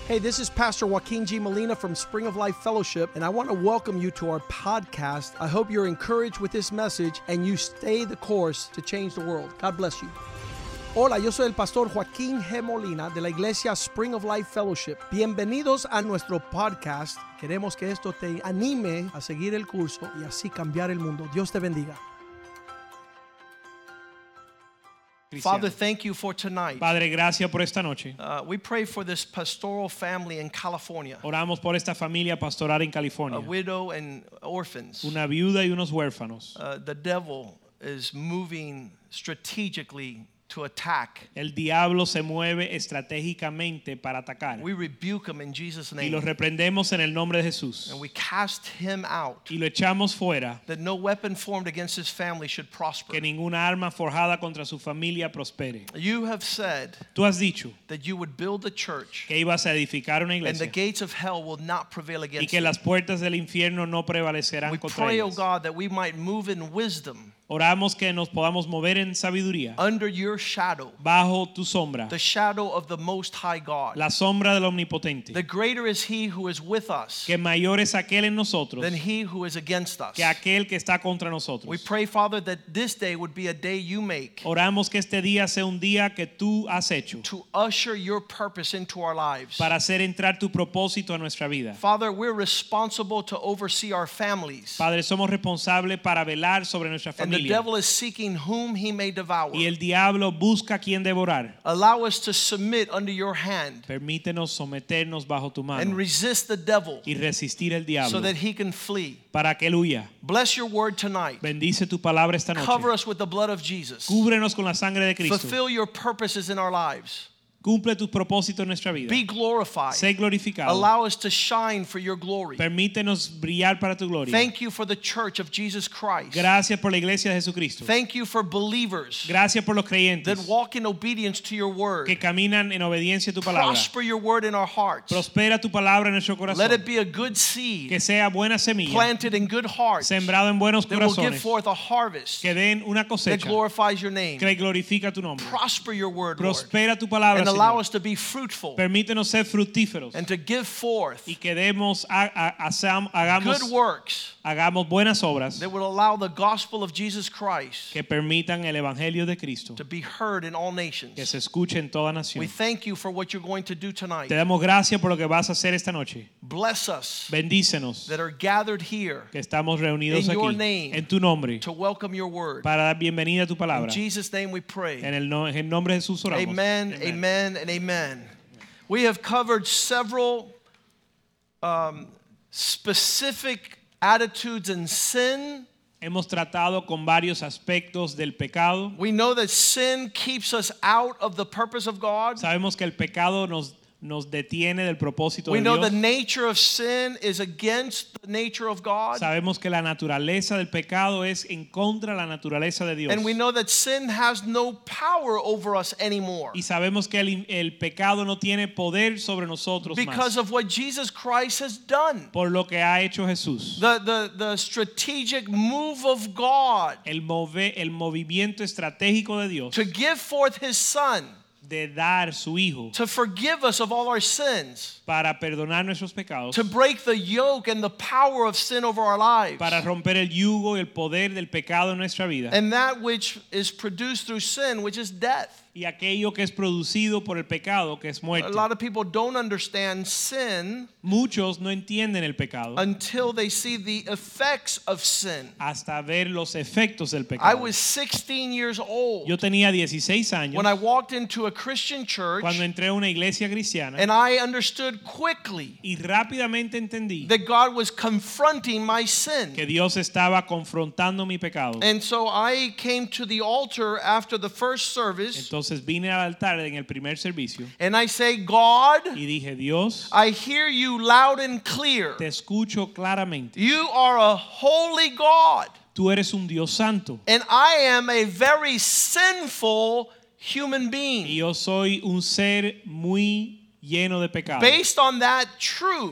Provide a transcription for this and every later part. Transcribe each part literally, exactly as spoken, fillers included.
Hey, this is Pastor Joaquin G. Molina from Spring of Life Fellowship, and I want to welcome you to our podcast. I hope you're encouraged with this message and you stay the course to change the world. God bless you. Hola, yo soy el pastor Joaquín G. Molina de la iglesia Spring of Life Fellowship. Bienvenidos a nuestro podcast. Queremos que esto te anime a seguir el curso y así cambiar el mundo. Dios te bendiga. Father, thank you for tonight. Padre, gracias por esta noche. Uh, we pray for this pastoral family in California. Oramos por esta familia pastoral en California. A widow and orphans. Una viuda y unos huérfanos. Uh, the devil is moving strategically to attack. El diablo se mueve estratégicamente para atacar. We rebuke him in Jesus' name. Y lo reprendemos en el nombre de Jesús. And we cast him out. Y lo echamos fuera. That no weapon formed against his family should prosper. Que ninguna arma forjada contra su familia prospere. You have said Tú has dicho that you would build a church. Que ibas a edificar una iglesia. And the gates of hell will not prevail against Y que it. las puertas del infierno no prevalecerán we contra pray, ellas. oh God, that we might move in wisdom. Oramos que nos podamos mover en sabiduría. Under your shadow. Bajo tu sombra. The shadow of the Most High God. La sombra del Omnipotente. The greater is He who is with us. Que mayor es aquel en nosotros. Than he who is against us. Que aquel que está contra nosotros. We pray, Father, that this day would be a day you make. Oramos que este día sea un día que tú has hecho. To usher your purpose into our lives. Para hacer entrar tu propósito a nuestra vida. Father, we're responsible to oversee our families. Padre, somos responsables para velar sobre nuestra familia. And the devil is seeking whom he may devour. Y el diablo busca quien devorar. Allow us to submit under your hand. Permítenos someternos bajo tu mano. And resist the devil. Y resistir el diablo. So that he can flee. Para que él huya. Bless your word tonight. Bendice tu palabra esta noche. Cover us with the blood of Jesus. Cúbrenos con la sangre de Cristo. Fulfill your purposes in our lives. Cumple tus propósitos en nuestra vida. Be glorified. Sé glorificado. Allow us to shine for your glory. Permítenos brillar para tu gloria. Thank you for the church of Jesus Christ. Gracias por la iglesia de Jesucristo. Thank you for believers. Gracias por los creyentes. That walk in obedience to your word. Que caminan en obediencia a tu palabra. Prosper your word in our hearts. Prospera tu palabra en nuestro corazón. Let it be a good seed. Que sea buena semilla. Planted in good hearts. Sembrado en buenos that corazones. Will give forth a harvest. Que den una cosecha. That glorifies your name. Que glorifica tu nombre. Prosper your word, Prospera Lord. tu palabra, and allow Señor. us to be fruitful. Permítenos ser fructíferos. And to give forth. Y que demos a, a, a, hagamos good works. Hagamos buenas obras. That would allow the gospel of Jesus Christ. Que permitan el evangelio de Cristo. To be heard in all nations. Que se escuche en toda nación. We thank you for what you're going to do tonight. Te damos gracias por lo que vas a hacer esta noche. Bless us. Bendícenos. That are gathered here. Que estamos reunidos in aquí your name, en tu nombre. To welcome your word. Para dar bienvenida a tu palabra. In Jesus' name we pray. En el, no, en el nombre de Jesús oramos. Amen, amen, amen, and amen. We have covered several um, specific attitudes in sin. Hemos tratado con varios aspectos del pecado. We know that sin keeps us out of the purpose of God. Sabemos que el pecado nos nos detiene del propósito we de know Dios. The nature of sin is against the nature of God. Sabemos que la naturaleza del pecado es en contra de la naturaleza de Dios. And we know that sin has no power over us anymore. Y sabemos que el, el pecado no tiene poder sobre nosotros because más. Of what Jesus Christ has done. Por lo que ha hecho Jesús. The the the strategic move of God. El move, el movimiento estratégico de Dios. To give forth his son. De dar su hijo. To forgive us of all our sins. Para perdonar nuestros pecados. To break the yoke and the power of sin over our lives. Para romper el yugo y el poder del pecado en nuestra vida. And that which is produced through sin, which is death. Y aquello que es producido por el pecado, que es muerte. A lot of people don't understand sin. Muchos no entienden el pecado. Until they see the effects of sin. Hasta ver los efectos del pecado. I was sixteen years old. Yo tenía dieciséis años. When I walked into a Christian church. Cuando entré a una iglesia cristiana. And I understood quickly. Y rápidamente entendí. That God was confronting my sin. Que Dios estaba confrontando mi pecado. And so I came to the altar after the first service. Entonces, Entonces vine al altar en el primer servicio. And I say, God, y dije, Dios, I hear you loud and clear. Te escucho claramente. You are a holy God. Tú eres un Dios santo. And I am a very sinful human being. Y yo soy un ser muy lleno de pecado. Based on that truth,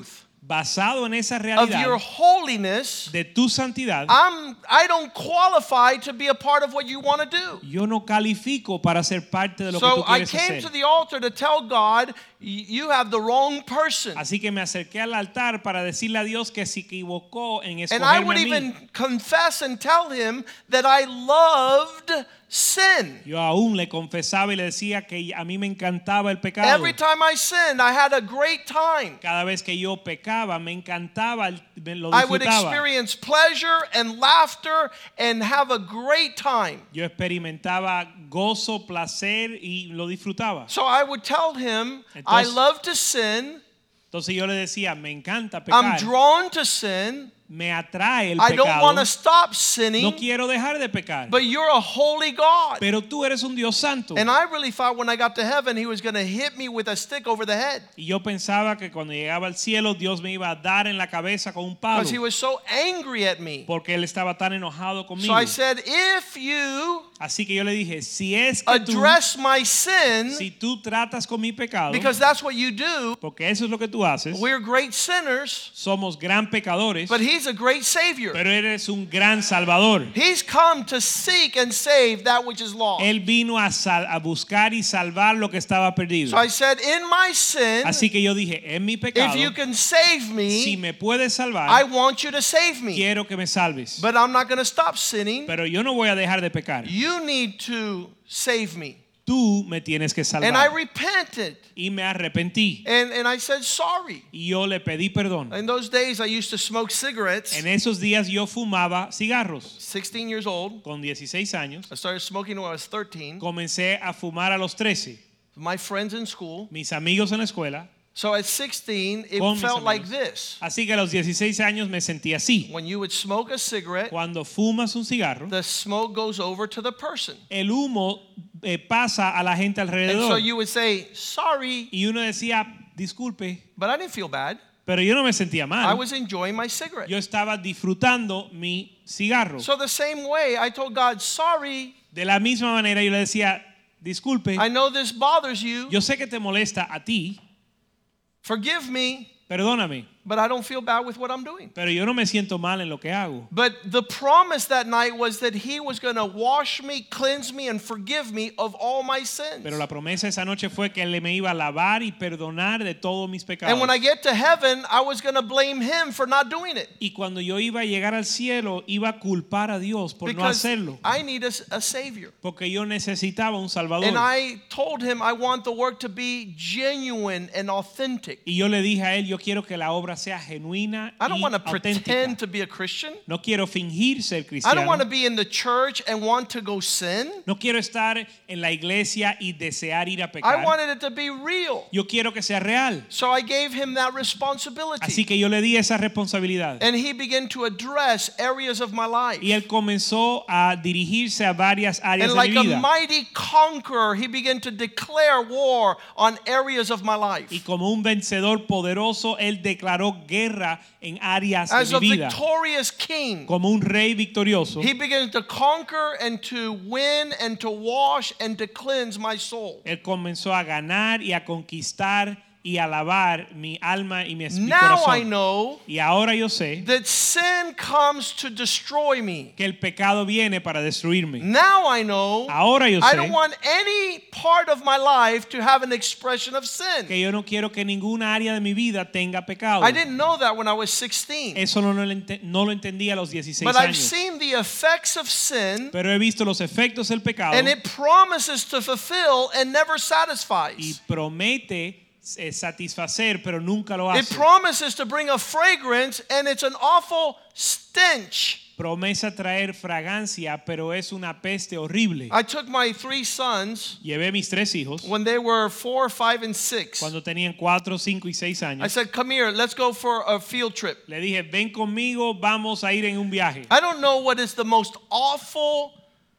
basado en esa of realidad your holiness, de tu santidad, I'm, I don't qualify to be a part of what you want to do. yo no califico para ser parte de lo que So tú I quieres came hacer. to the altar to tell God, you have the wrong person. Así que me acerqué al altar para decirle a Dios que se equivocó en And I escogerme would a mí. even confess and tell him that I loved sin. Yo aún le confesaba y le decía que a mí me encantaba el pecado. Every time I sinned, I had a great time. Cada vez que yo pecaba, me encantaba, me lo I would disfrutaba. experience pleasure and laughter and have a great time. Yo experimentaba gozo, placer y lo disfrutaba. So I would tell him, I Entonces- love to sin. Entonces yo le decía, me encanta I'm pecar, drawn to sin. me atrae el I don't pecado, want to stop no sinning. quiero dejar de pecar, But you're a holy God. pero tú eres un Dios santo. And I really thought when I got to heaven, he was going to hit me with a stick over the head. Y yo pensaba que cuando llegaba al cielo, Dios me iba a dar en la cabeza con un palo, Because he was so angry at me. porque Él estaba tan enojado So conmigo. I said, if you Así que yo le dije, si es que tú, address my sin, si tú tratas con mi pecado, because that's what you do, porque eso es lo que tú haces, we're great sinners, somos gran pecadores, but he's a great Savior. pero eres un gran salvador. He's come to seek and save that which is lost. Él vino a, sal- a buscar y salvar lo que estaba perdido. So I said, in my sin, Así que yo dije, en mi pecado, if you can save si me, me puedes salvar, I want you to save me. quiero que me salves. But I'm not going to stop sinning. Pero yo no voy a dejar de pecar. You need to save me. Tú me tienes que And I salvar. repented. Y me arrepentí. And, and I said, sorry. Y yo le pedí perdón. In those days, I used to smoke cigarettes. En esos días yo fumaba cigarros. sixteen years old. Con dieciséis años. I started smoking when I was thirteen. Comencé a fumar a los trece. My friends in school. Mis amigos en la escuela. So at sixteen, it Con mis felt like amigos. this. Así que a los dieciséis años me sentí así. When you would smoke a cigarette, Cuando fumas un cigarro, the smoke goes over to the person. el humo eh, pasa a la gente And so alrededor. you would say, sorry, Y uno decía, disculpe, but I didn't feel bad. pero yo no me sentía I mal. was enjoying my cigarette. Yo estaba disfrutando mi cigarro. So the same way, I told God, sorry, De la misma manera yo le decía, disculpe, I know this bothers you. yo sé que te molesta a ti, Forgive me, perdóname, but I don't feel bad with what I'm doing. pero yo no me siento mal en lo que hago. But the promise that night was that he was going to wash me, cleanse me, and forgive me of all my sins. Pero la promesa esa noche fue que Él me iba a lavar y perdonar de todos mis pecados. And when I get to heaven, I was going to blame him for not doing it. Y cuando yo iba a llegar al cielo, iba a culpar a Dios por no Because hacerlo. I need a, a Savior. Porque yo necesitaba un Salvador. And I told him I want the work to be genuine and authentic. Y yo le dije a Él, yo quiero que la obra sea genuina I don't y want to auténtica. pretend to be a Christian. No quiero fingir ser I cristiano. don't want to be in the church and want to go sin. No quiero estar en la iglesia y desear ir a I pecar. wanted it to be real. Yo quiero que sea real. So I gave him that responsibility. Así que yo le di esa responsabilidad. And he began to address areas of my life. Y él comenzó a dirigirse a varias áreas And de like mi a vida. mighty conqueror, he began to declare war on areas of my life. Y como un vencedor poderoso, él declaró guerra en áreas As de a mi vida. victorious king, Como un rey victorioso, he began to conquer and to win and to wash and to cleanse my soul. él comenzó a ganar y a conquistar y a lavar mi alma y mi, mi Now I corazón. know Y ahora yo sé that sin comes to destroy me. que el pecado viene para destruirme. Now I know Ahora yo I sé don't want any part of my life to have an expression of sin. que yo no quiero que ninguna área de mi vida tenga pecado. I didn't know that when I was sixteen. Eso no, no, lo ente- no lo entendía a los dieciséis But I've años. seen the effects of sin, Pero he visto los efectos del pecado and it promises to fulfill and never y satisfies. promete eh, satisfacer, pero nunca lo It hace. promises to bring a fragrance, and it's an awful stench. Promesa traer fragancia, pero es una peste horrible. I took my three sons Llevé mis tres hijos when they were four, five, and six. cuando tenían cuatro, cinco y seis I años. said, come here, let's go for a field trip. Le dije, ven conmigo, vamos a ir en un viaje. I don't know what is the most awful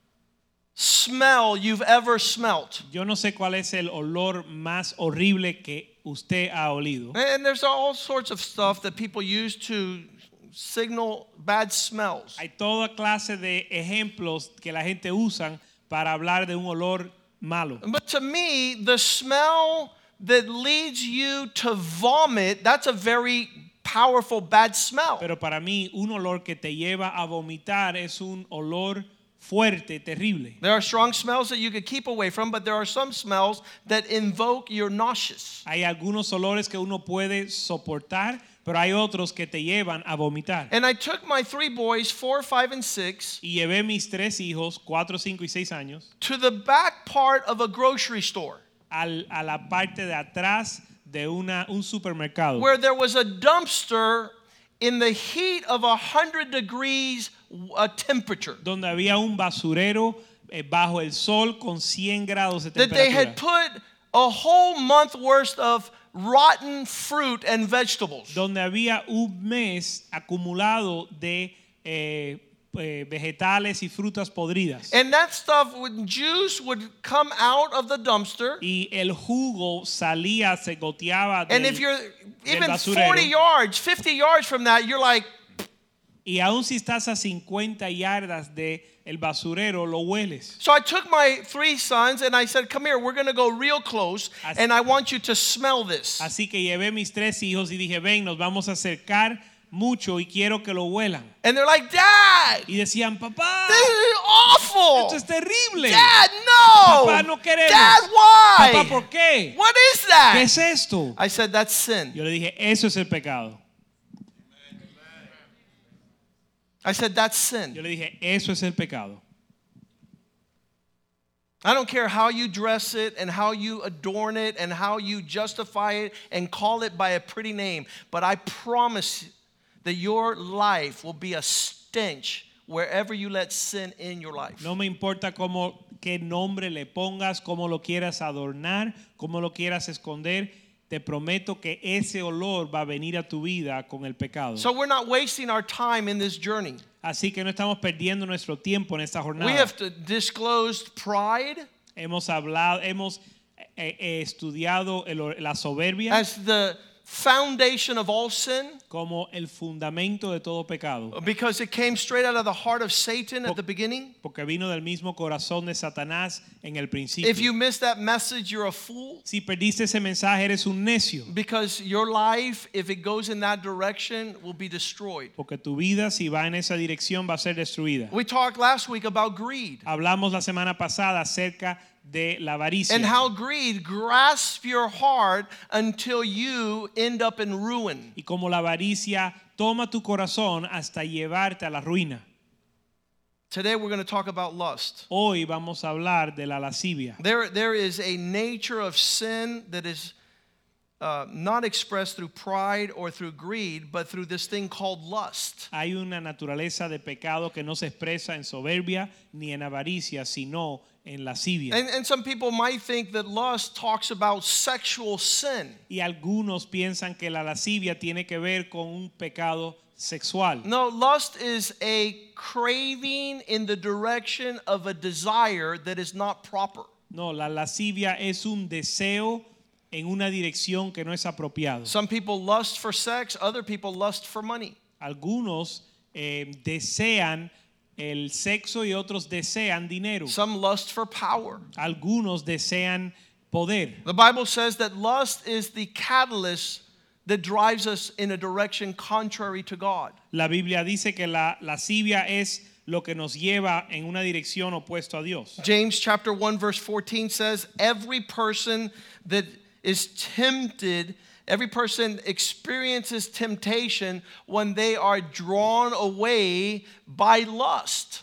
smell you've ever smelt. Yo no sé cuál es el olor más horrible que usted ha olido. And there's all sorts of stuff that people use to signal bad smells. Hay toda clase de ejemplos que la gente usan para hablar de un olor malo. But to me, the smell that leads you to vomit, that's a very powerful bad smell. Pero para mí un olor que te lleva a vomitar es un olor fuerte, terrible. There are strong smells that you could keep away from, but there are some smells that invoke your nauseous. Hay algunos olores que uno puede soportar, pero hay otros que te llevan a vomitar. And I took my three boys, four, five, and six, Y llevé mis tres hijos, cuatro, cinco y seis años, to the back part of a grocery store al, a la parte de atrás de una, un supermercado, where there was a dumpster in the heat of a hundred degrees uh, temperature donde había un basurero eh, bajo el sol con cien grados de that they had temperatura, put a whole month worth of rotten fruit and vegetables. donde había un mes acumulado de eh, eh, vegetales y frutas podridas. And that stuff, when juice would come out of the dumpster, Y el jugo salía, se goteaba and del, if you're del even basurero. forty yards, fifty yards from that, you're like, Y aún si estás a cincuenta yardas de el basurero, lo hueles. so I took my three sons and I said, come here, we're going to go real close, Así- and I want you to smell this. Así que llevé mis tres hijos y dije, ven, nos vamos a acercar mucho y quiero que lo huelan. And they're like, Dad, Y decían, papá, this is awful. esto es terrible. Dad, no. Papá, no queremos. Dad, why? Papá, ¿por qué? What is ¿Qué that? es esto? I said, that's sin. Yo le dije, eso es el pecado. I said, that's Yo sin. le dije, eso es el pecado. I don't care how you dress it and how you adorn it and how you justify it and call it by a pretty name, but I promise that your life will be a stench wherever you let sin in your life. No me importa cómo, qué nombre le pongas, cómo lo quieras adornar, cómo lo quieras esconder. Te prometo que ese olor va a venir a tu vida con el pecado. So we're not wasting our time in this journey. Así que no estamos perdiendo nuestro tiempo en esta jornada. We have to disclose pride Hemos hablado, hemos eh, eh, estudiado el- la soberbia as the foundation of all sin como el fundamento de todo pecado, because it came straight out of the heart of Satan at the beginning. porque vino del mismo corazón de Satanás en el principio. If you miss that message, you're a fool. Si perdiste ese mensaje, eres un necio, Because your life, if it goes in that direction, will be destroyed. porque tu vida, si va en esa dirección, va a ser destruida. We talked last week about greed Hablamos la semana pasada acerca de la avaricia and how greed grasps your heart until you end up in ruin. y como la avaricia toma tu corazón hasta llevarte a la ruina. Today we're going to talk about lust. Hoy vamos a hablar de la lascivia. There, there is a nature of sin that is uh, not expressed through pride or through greed, but through this thing called lust. Hay una naturaleza de pecado que no se expresa en soberbia ni en avaricia, sino en lascivia. And, and some people might think that lust talks about sexual sin. Y algunos piensan que la lascivia tiene que ver con un pecado sexual. No, lust is a craving in the direction of a desire that is not proper. No, la lascivia es un deseo en una dirección que no es apropiado. Some people lust for sex, other people lust for money. Algunos eh, desean el sexo y otros desean dinero. Some lust for power. Algunos desean poder. The Bible says that lust is the catalyst that drives us in a direction contrary to God. La Biblia dice que la lascivia es lo que nos lleva en una dirección opuesta a Dios. James chapter one verse fourteen says, every person that is tempted, every person experiences temptation when they are drawn away by lust.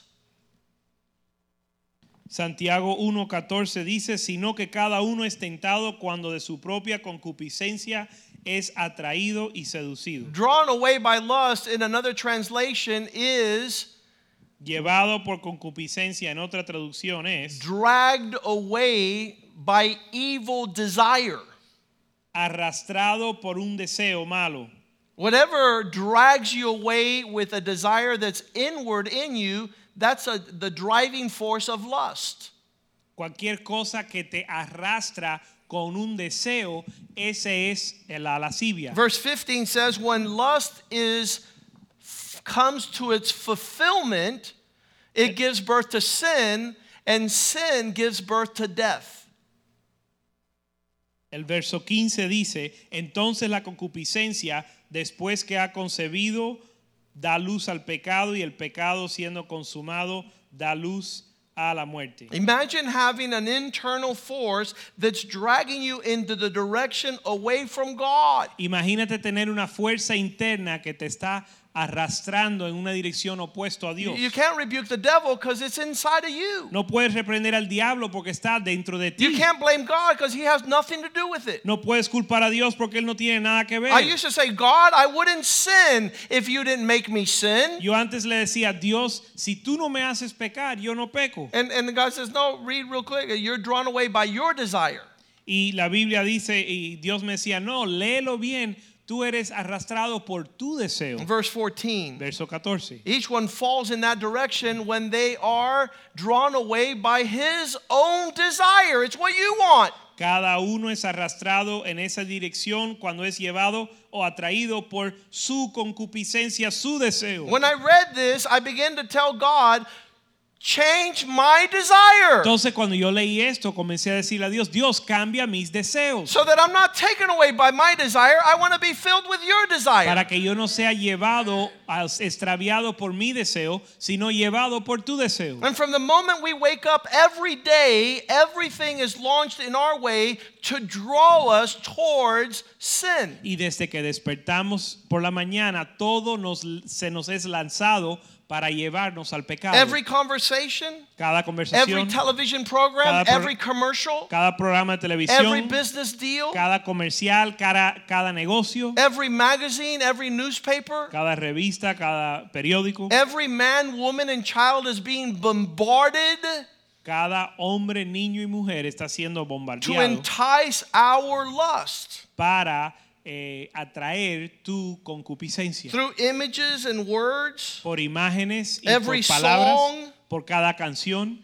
Santiago uno catorce dice, sino que cada uno es tentado cuando de su propia concupiscencia es atraído y seducido. Drawn away by lust in another translation is Llevado por concupiscencia en otra traducción es dragged away by evil desire. arrastrado por un deseo malo. Whatever drags you away with a desire that's inward in you, that's a, the driving force of lust. Cualquier cosa que te arrastra con un deseo, ese es la lascivia. Verse fifteen says, when lust is comes to its fulfillment, it gives birth to sin, and sin gives birth to death. El verso quince dice, entonces la concupiscencia, después que ha concebido, da luz al pecado, y el pecado siendo consumado, da luz a la muerte. Imagine having an internal force that's dragging you into the direction away from God. Imagínate tener una fuerza interna que te está arrastrando en una dirección opuesta a Dios. You can't rebuke the devil because it's inside of you. No puedes reprender al diablo porque está dentro de ti. You can't blame God because he has nothing to do with it. No puedes culpar a Dios porque él no tiene nada que ver. I used to say, God, I wouldn't sin if you didn't make me sin. Yo antes le decía, Dios, si tú no me haces pecar, yo no peco. And, and God says, no, read real quick. You're drawn away by your desire. Y la Biblia dice, y Dios me decía, no, léelo bien. Tú eres arrastrado por tu deseo. Verse fourteen. Verso catorce. Each one falls in that direction when they are drawn away by his own desire. It's what you want. Cada uno es arrastrado en esa dirección cuando es llevado o atraído por su concupiscencia, su deseo. When I read this, I began to tell God, change my desire. Entonces cuando yo leí esto, comencé a decirle a Dios, Dios, cambia mis deseos. So that I'm not taken away by my desire, I want to be filled with your desire. Para que yo no sea llevado, extraviado por mi deseo, sino llevado por tu deseo. And from the moment we wake up every day, everything is launched in our way to draw us towards sin. Y desde que despertamos por la mañana, todo nos, se nos es lanzado para llevarnos al pecado. Every conversation, cada conversación, every television program, cada, every commercial, cada programa de televisión, every business deal, cada comercial, cada, cada negocio, every magazine, every newspaper, cada revista, cada periódico, every man, woman, and child is being bombarded. Cada hombre, niño y mujer está siendo To bombardeado entice our lust. para eh, atraer tu concupiscencia. Through images and words, Por imágenes y every por palabras, song, por cada canción.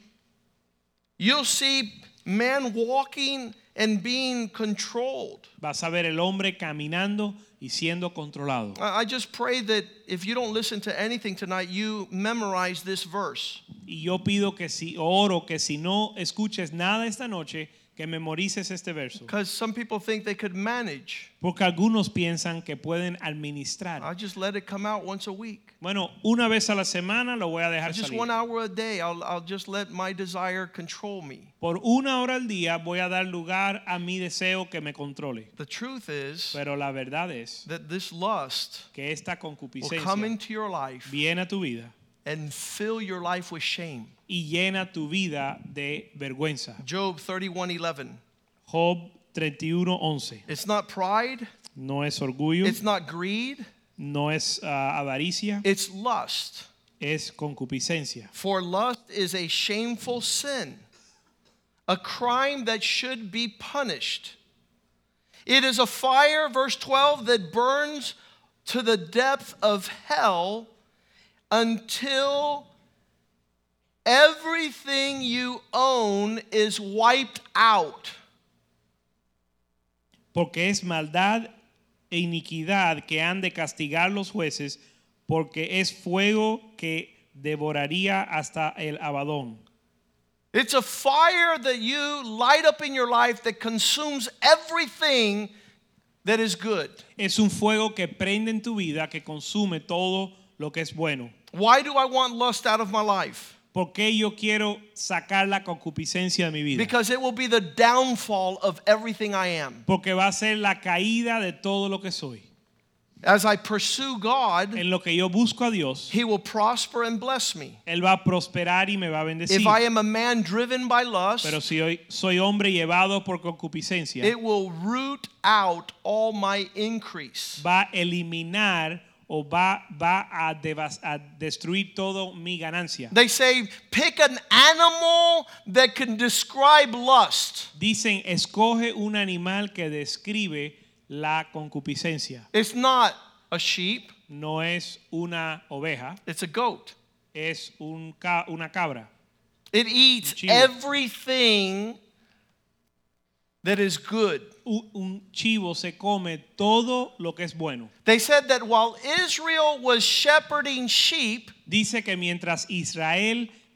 you'll see man walking and being controlled. Vas a ver el hombre caminando y siendo controlado. I I just pray that if you don't listen to anything tonight, you memorize this verse. Y yo pido que si oro que si no escuches nada esta noche, que memorices este verso. Because some people think they could manage. Porque algunos piensan que pueden administrar. I'll just let it come out once a week. Bueno, una vez a la semana lo voy a dejar Just salir. one hour a day, I'll, I'll just let my desire control me. Por una hora al día voy a dar lugar a mi deseo que me controle. The truth is Pero la verdad es that this lust que esta will come concupiscencia into your life viene a tu vida and fill your life with shame. y llena tu vida de vergüenza. Job thirty-one eleven. Job treinta y uno once. It's not pride, No es orgullo, it's not greed, no es uh, avaricia, it's lust. es concupiscencia. For lust is a shameful sin, a crime that should be punished. It is a fire, verse twelve, that burns to the depth of hell until everything you own is wiped out. Porque es maldad e iniquidad que han de castigar los jueces, porque es fuego que devoraría hasta el abadón. It's a fire that you light up in your life that consumes everything that is good. Es un fuego que prende en tu vida, que consume todo lo que es bueno. Why do I want lust out of my life? ¿Por qué yo quiero sacar la concupiscencia de mi vida? Because it will be the downfall of everything I am. Porque va a ser la caída de todo lo que soy. As I pursue God, En lo que yo busco a Dios, He will prosper and bless me. Él va a prosperar y me va a bendecir. If I am a man driven by lust, Pero si hoy soy hombre llevado por concupiscencia, it will root out all my increase. va a eliminar o va, va a, devas, a destruir todo mi ganancia. They say, pick an animal that can describe lust. Dicen, escoge un animal que describe la concupiscencia. It's not a sheep, No es una oveja, it's a goat. es un ca, una cabra. It eats chivo. everything that is good. Un, un chivo se come todo lo que es bueno. They said that while Israel was shepherding sheep, Dice que mientras Israel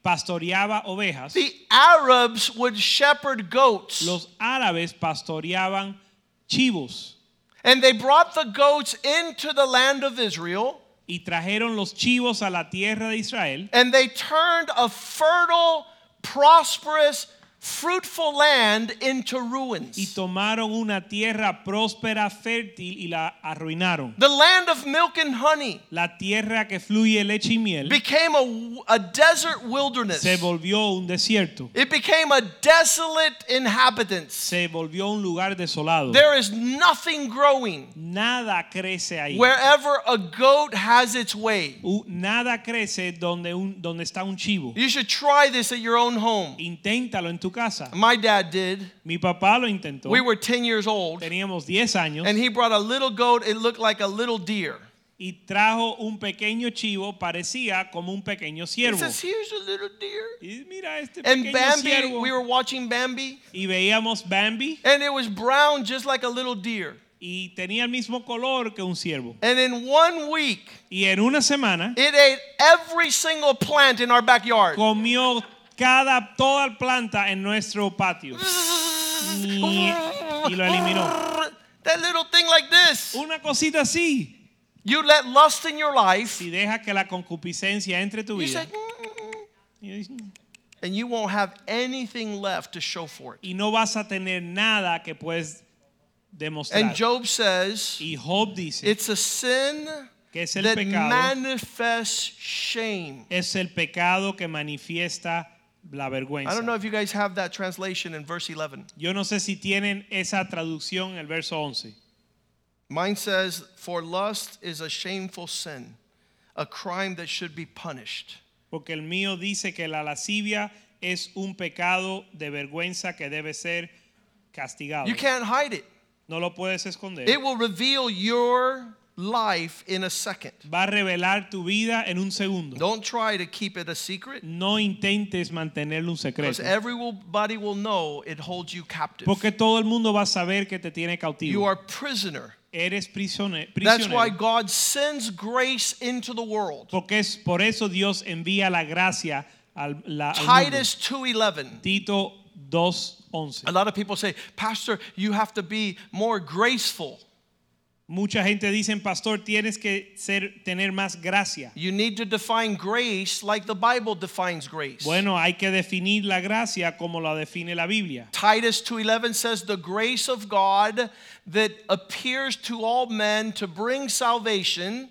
pastoreaba ovejas, the Arabs would shepherd goats. los árabes pastoreaban chivos. And they brought the goats into the land of Israel. Y trajeron los chivos a la tierra de Israel. And they turned a fertile, prosperous, fruitful land into ruins. Y tomaron una tierra próspera, fértil y la arruinaron. The land of milk and honey La tierra que fluye leche y miel became a, a desert wilderness. se volvió un desierto. It became a desolate inhabitants. Se volvió un lugar desolado. There is nothing growing Nada crece ahí. wherever a goat has its way. U- Nada crece donde, un, donde está un chivo. You should try this at your own home. Inténtalo en tu casa. My dad did. Mi papá lo intentó. We were ten years old, Teníamos diez años and he brought a little goat. It looked like a little deer. y trajo un pequeño chivo, parecía como un pequeño He ciervo. says, "Here's a little deer." Y mira este And pequeño Bambi, ciervo. we were watching Bambi, Y veíamos Bambi and it was brown just like a little deer. y tenía el mismo color que un ciervo. And in one week, Y en una semana it ate every single plant in our backyard. comió cada toda planta en nuestro patio y, y lo eliminó. That little thing like this. Una cosita así. You let lust in your life, Si deja que la concupiscencia entre tu you vida say, "Mm." y and you won't have anything left to show for it. y no vas a tener nada que puedes demostrar. And Job says, Y Job dice it's a sin que es el that pecado, manifests shame. es el pecado que manifiesta la vergüenza. I don't know if you guys have that translation in verse eleven. Yo no sé si tienen esa traducción en el verso once. Mine says, "For lust is a shameful sin, a crime that should be punished." Porque el mío dice que la lascivia es un pecado de vergüenza que debe ser castigado. You can't hide it. No lo puedes esconder. It will reveal your life in a second. Va a revelar tu vida en un segundo. Don't try to keep it a secret, No intentes mantenerlo un because secreto. everybody will know it holds you captive. Porque todo el mundo va a saber que te tiene cautivo. You are prisoner. Eres prisone- That's why prisionero. God sends grace into the world. Porque es por eso Dios envía la gracia al, la, al mundo. Titus two eleven. Tito dos once. A lot of people say, "Pastor, you have to be more graceful. Mucha gente dice, pastor, tienes que ser, tener más gracia. You need to define grace like the Bible defines grace." Bueno, hay que definir la gracia como la define la Biblia. Titus two eleven says, "The grace of God that appears to all men to bring salvation."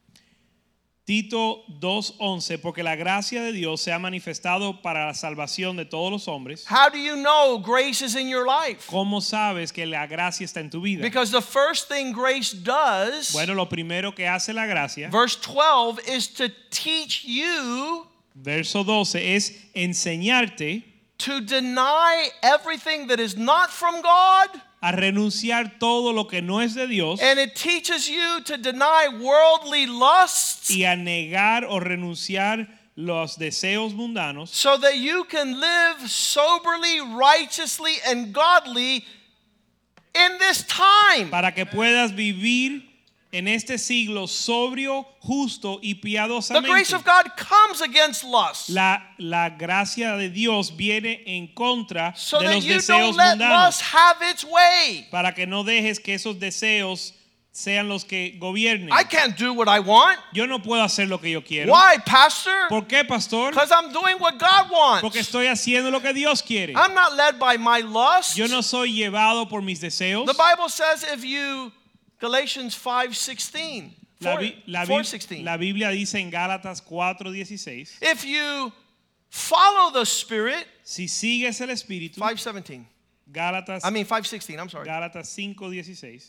Tito dos once, porque la gracia de Dios se ha manifestado para la salvación de todos los hombres. How do you know grace is in your life? ¿Cómo sabes que la gracia está en tu vida? Because the first thing grace does, Bueno, lo primero que hace la gracia, verse twelve, is to teach you verso doce, es enseñarte to deny everything that is not from God, a renunciar todo lo que no es de Dios and it teaches you to deny worldly lusts y a negar o renunciar los deseos mundanos so that you can live soberly, righteously, and godly in this time. para que puedas vivir en este siglo sobrio, justo y The piadosamente. grace of God comes against lust La, la gracia de Dios viene en contra so de that los you deseos don't let mundanos lust have its way. para que no dejes que esos deseos sean los que gobiernen. I can't do what I want. Yo no puedo hacer lo que yo quiero. Why, Pastor? ¿Por qué, pastor? Because I'm doing what God Porque wants. estoy haciendo lo que Dios quiere. I'm not led by my lust. Yo no soy llevado por mis deseos. The Bible says if you, Galatians five sixteen, La, Bi- la, Bi- four sixteen. la Biblia dice en Gálatas cuatro dieciséis, If you follow the Spirit, si sigues el Espíritu, five seventeen. Gálatas, I mean five sixteen, I'm sorry. Gálatas cinco dieciséis,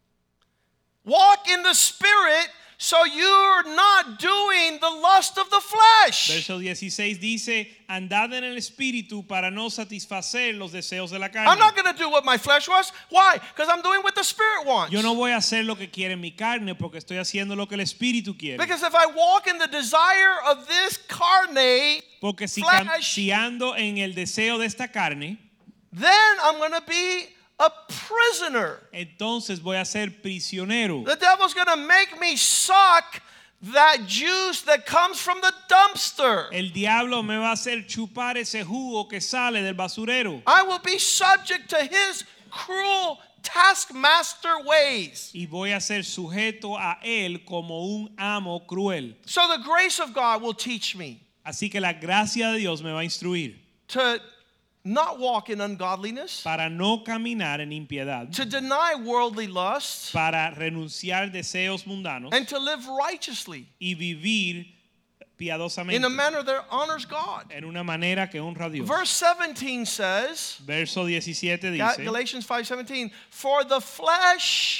Walk in the Spirit so you're not doing the lust of the flesh. verso dieciséis dice, andad en el Espíritu para no satisfacer los deseos de la carne. I'm not going to do what my flesh wants. Why? Because I'm doing what the Spirit wants. Yo no voy a hacer lo que quiere mi carne porque estoy haciendo lo que el Espíritu quiere. Because if I walk in the desire of this carne, Porque si, cam- flesh, si ando en el deseo de esta carne, then I'm going to be a prisoner. entonces voy a ser prisionero. The devil's going to make me suck that juice that comes from the dumpster. El diablo me va a hacer chupar ese jugo que sale del basurero. I will be subject to his cruel taskmaster ways. Y voy a ser sujeto a él como un amo cruel. So the grace of God will teach me Así que la gracia de Dios me va a instruir to not walk in ungodliness, para no caminar en impiedad, to deny worldly lusts, para renunciar deseos mundanos and to live righteously y vivir piadosamente in a manner that honors God. en una manera que honra a Dios. Verse seventeen says, Verso diecisiete Ga- dice, Galatians five seventeen, for the flesh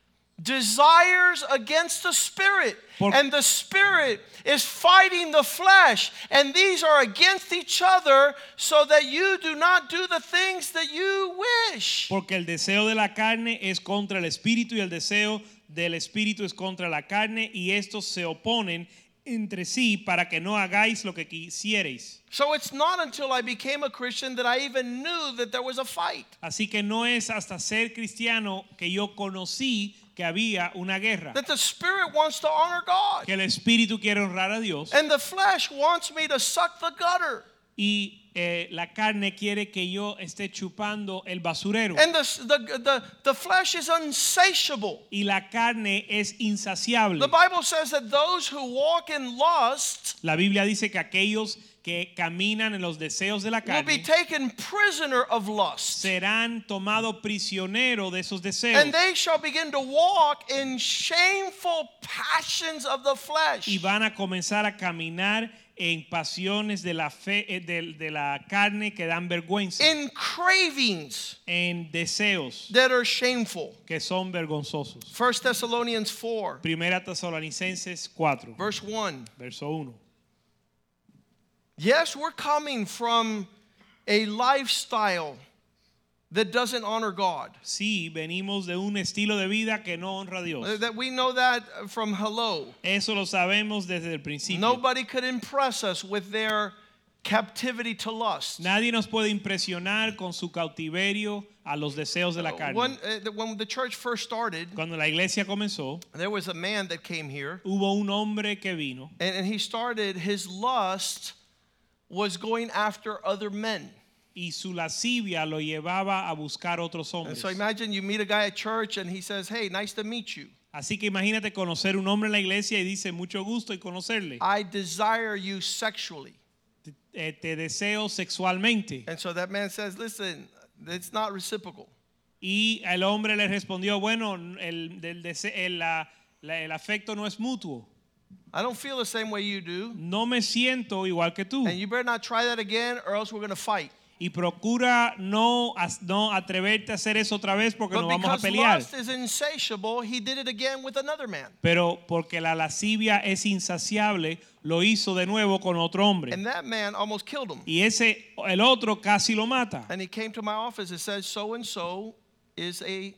desires against the spirit, Por- and the spirit is fighting the flesh, and these are against each other, so that you do not do the things that you wish. porque el deseo de la carne es contra el espíritu y el deseo del espíritu es contra la carne y estos se oponen entre sí para que no hagáis lo que quisierais. So it's not until I became a Christian that I even knew that there was a fight. Así que no es hasta ser cristiano que yo conocí que había una guerra, That the spirit wants to honor God, que el espíritu quiere honrar a Dios and the flesh wants me to suck the gutter. y eh, la carne quiere que yo esté chupando el basurero. And the, the, the, the flesh is unsatiable. Y la carne es insaciable. The Bible says that those who walk in lust La Biblia dice que aquellos que caminan en los deseos de la will be carne taken prisoner of lust. serán tomados prisioneros de esos deseos And they shall begin to walk in shameful passions of the flesh. y van a comenzar a caminar en pasiones de la fe eh, de, de la carne que dan vergüenza, In cravings en deseos that are shameful. que son vergonzosos. First Thessalonians four, Primera Tesalonicenses cuatro, verse one. verso uno. Yes, we're coming from a lifestyle that doesn't honor God. Sí, venimos de un estilo de vida que no honra a Dios. Uh, That we know that from hello. Eso lo sabemos desde el principio. Nobody could impress us with their captivity to lust. Nadie nos puede impresionar con su cautiverio a los deseos de la carne. When, uh, the- when the church first started, Cuando la iglesia comenzó, there was a man that came here, hubo un hombre que vino and, and he started, his lust was going after other men. y su lascivia lo llevaba a buscar otros And hombres. so imagine you meet a guy at church and he says, hey, nice to meet you. Así que imagínate conocer un hombre en la iglesia y dice mucho gusto y conocerle. I desire you sexually. Te, eh, te deseo sexualmente. And so that man says, listen, it's not reciprocal. Y el hombre le respondió, bueno, el, del dese- el, la- la- el afecto no es mutuo. I don't feel the same way you do. No me siento igual que tú. And you better not try that again or else we're going to fight. Y procura no, as- no atreverte a hacer eso otra vez porque But nos vamos a because pelear. lust is insatiable, he did it again with another man. Pero porque la lascivia es insaciable, lo hizo de nuevo con otro hombre. And that man almost killed him. Y ese, el otro casi lo mata. And he came to my office and said, so and so is a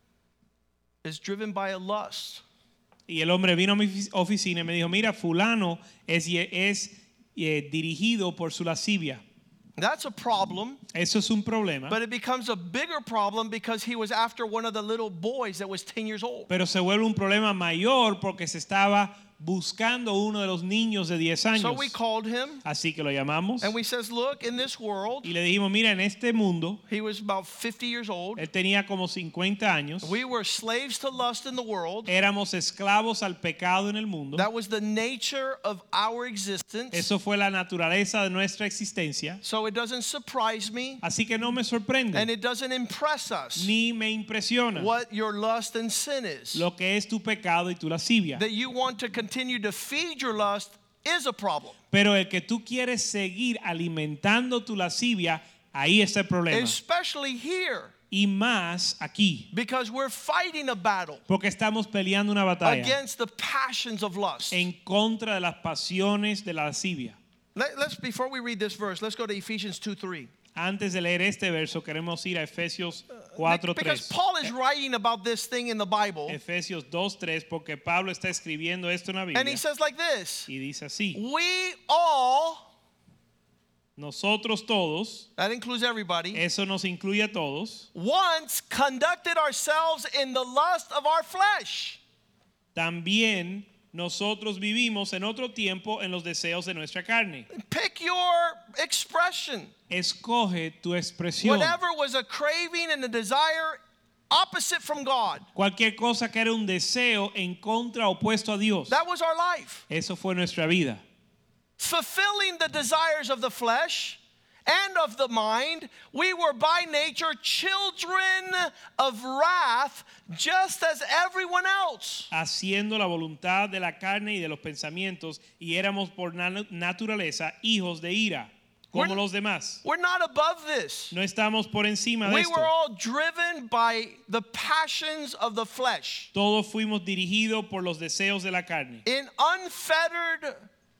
is driven by a lust. Y el hombre vino a mi ofi- oficina y me dijo, mira, fulano es, es eh, dirigido por su lascivia. That's a problem, Eso es un problema. but it becomes a bigger problem because he was after one of the little boys that was ten years old. Pero se vuelve un problema mayor porque se estaba buscando uno de los niños de diez años. So we called him Así que lo llamamos and we says, look, in this world, y le dijimos, mira, en este mundo, he was about fifty years old. él tenía como cincuenta años. We were slaves to lust in the world. Éramos esclavos al pecado en el mundo. That was the nature of our existence. Eso fue la naturaleza de nuestra existencia. So it doesn't surprise me Así que no me sorprende and it doesn't impress us ni me impresiona what your lust and sin is. lo que es tu pecado y tu lascivia. That you want to continue to feed your lust is a problem. Pero el que tú quieres seguir alimentando tu lascivia, ahí está el problema. Especially here, Y más aquí, because we're fighting a battle porque estamos peleando una batalla against the passions of lust. en contra de las pasiones de la lascivia. Let, let's before we read this verse, let's go to Ephesians two three. Antes de leer este verso, queremos ir a Efesios cuatro Because tres. Paul is writing about this thing in the Bible, Efesios dos tres, porque Pablo está escribiendo esto en la and Biblia. he says like this: Y dice así: we all, nosotros todos, that includes everybody, eso nos incluye a todos, once conducted ourselves in the lust of our flesh. también nosotros vivimos en otro tiempo en los deseos de nuestra carne. Pick your expression. Escoge tu expresión. Whatever was a craving and a desire opposite from God. Cualquier cosa que era un deseo en contra, opuesto a Dios. That was our life. Eso fue nuestra vida. Fulfilling the desires of the flesh and of the mind, we were by nature children of wrath, just as everyone else. Haciendo la voluntad de la carne y de los pensamientos, y éramos por na- naturaleza hijos de ira, como We're- los demás. We're not above this. No estamos por encima de We esto. were all driven by the passions of the flesh. Todos fuimos dirigidos por los deseos de la carne. In unfettered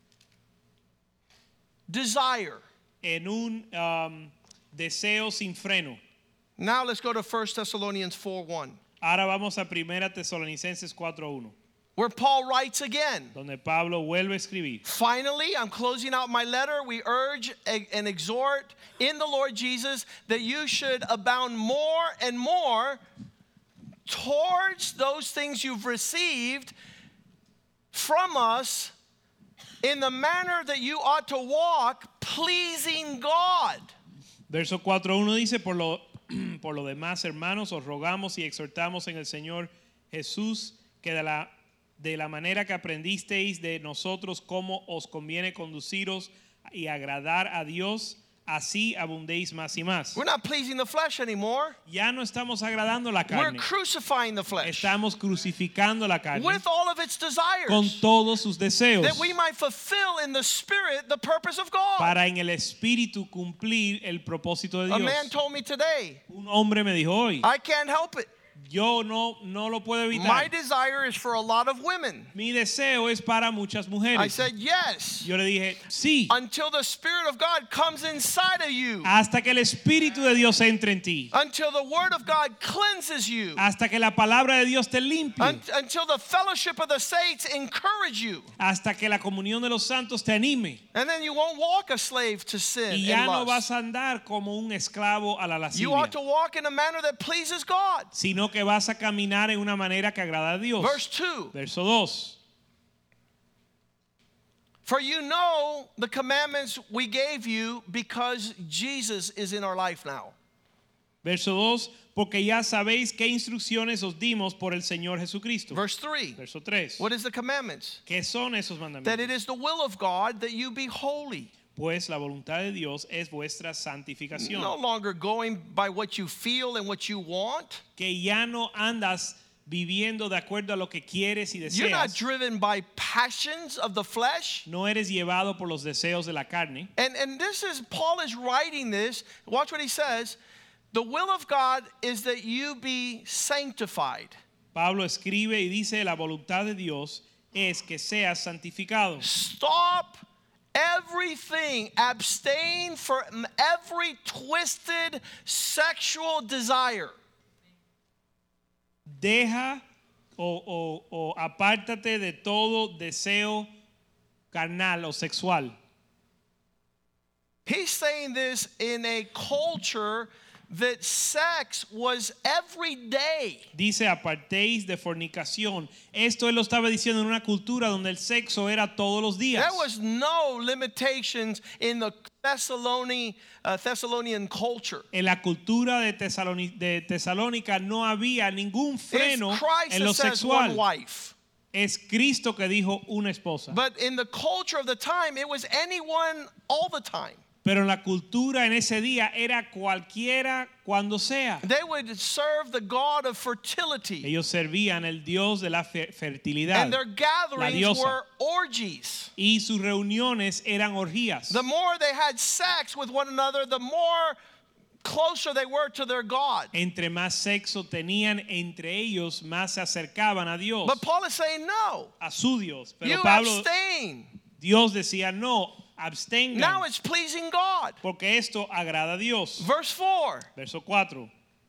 desire. En un um, deseo sin freno. Now let's go to First Thessalonians four one, Ahora vamos a Primera Tesalonicenses cuatro uno, where Paul writes again. donde Pablo vuelve a escribir. Finally, I'm closing out my letter. We urge and exhort in the Lord Jesus that you should abound more and more towards those things you've received from us in the manner that you ought to walk, pleasing God. Verso cuatro uno dice, por lo, por lo demás, hermanos, os rogamos y exhortamos en el Señor Jesús que de la, de la manera que aprendisteis de nosotros cómo os conviene conduciros y agradar a Dios, así abundéis más y más. We're not pleasing the flesh anymore. Ya no estamos agradando la We're carne, crucifying the flesh estamos crucificando la carne with all of its desires, con todos sus deseos that we might fulfill in the Spirit the purpose of God. para en el Espíritu cumplir el propósito de A Dios. man told me today, Un hombre me dijo hoy, I can't help it. yo no, no lo puedo My evitar. desire is for a lot of women. Mi deseo es para muchas I mujeres. said, yes, Yo le dije, sí, until the Spirit of God comes inside of you, hasta que el Espíritu de Dios entre en ti, until the Word of God cleanses you, hasta que la palabra de Dios te limpie, un- until the fellowship of the saints encourage you. hasta que la comunión de los santos te anime. And then you won't walk a slave to sin Y ya and no lust. vas a andar como un esclavo a la You lascivia, ought to walk in a manner that pleases God. sino que vas a caminar en una manera que agrada a Dios. Verse two, Verso dos. for you know the commandments we gave you because Jesus is in our life now. Verso dos, porque ya sabéis qué instrucciones os dimos por el Señor Jesucristo. Verse three, Verso tres. what is the commandments? ¿Qué son esos That it mandamientos? is the will of God that you be holy. Pues la voluntad de Dios es vuestra santificación. No longer going by what you feel and what you want. Que ya no andas viviendo de acuerdo a lo que quieres y You're not deseas. driven by passions of the flesh. No eres llevado por los deseos de la carne. And, and this is, Paul is writing this. Watch what he says. The will of God is that you be sanctified. Pablo escribe y dice, la voluntad de Dios es que seas santificado. Stop everything. Abstain from every twisted sexual desire. Deja o, o, o apártate de todo deseo carnal o sexual. He's saying this in a culture that sex was every day. Dice, apartéis de fornicación. Esto él lo estaba diciendo en una cultura donde el sexo era todos los días. There was no limitations in the Thessalonian, uh, Thessalonian culture. En la cultura de, Tesaloni- de Tesalónica no había ningún It's freno Christ en lo that says one sexual. wife. Es Cristo que dijo una esposa. But in the culture of the time, it was anyone all the time. Pero en la cultura en ese día era cualquiera cuando sea. They would serve the god of fertility. Ellos servían el Dios de la fe- fertilidad. And their gatherings diosa. were orgies. Y sus reuniones eran orgías. The more they had sex with one another, the more closer they were to their God. Entre más sexo tenían entre ellos, más se acercaban a Dios, But Paul is saying no. a su Dios. Pero You Pablo, abstain. Dios decía no, abstengan, Now it's pleasing God. porque esto agrada a Dios. Verse four. Verso cuatro.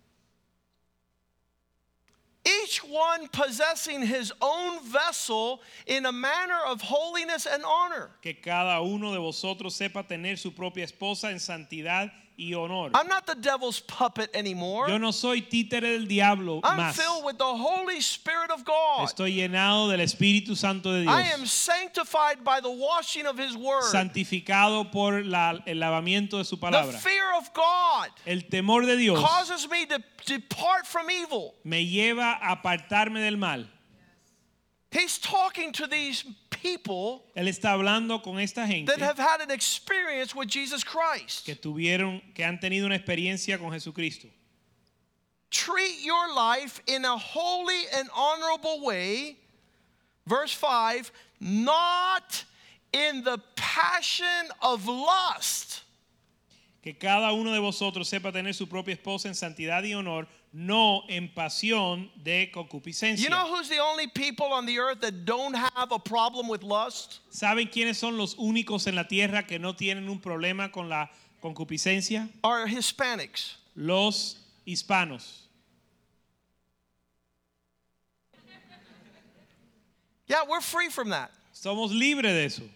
Each one possessing his own vessel in a manner of holiness and honor. Que cada uno de vosotros sepa tener su propia esposa en santidad y honor. I'm not the devil's puppet anymore. Yo no soy títere del diablo I'm más. filled with the Holy Spirit of God. Estoy llenado del Espíritu Santo de Dios. I am sanctified by the washing of His Word. Santificado por la, el lavamiento de su The palabra. fear of God El temor de Dios causes me to depart from evil. me lleva a apartarme del mal. He's talking to these people Él está hablando con esta gente that have had an experience with Jesus Christ. que tuvieron, que han tenido una experiencia con Jesucristo. Treat your life in a holy and honorable way. Verse five, not in the passion of lust. Que cada uno de vosotros sepa tener su propia esposa en santidad y honor, no en pasión de concupiscencia. You know who's the only people on the earth that don't have a problem with lust? ¿Saben quiénes son los únicos en la tierra que no tienen un problema con la concupiscencia? Are Hispanics. Los hispanos. Yeah, we're free from that. Somos libres de eso.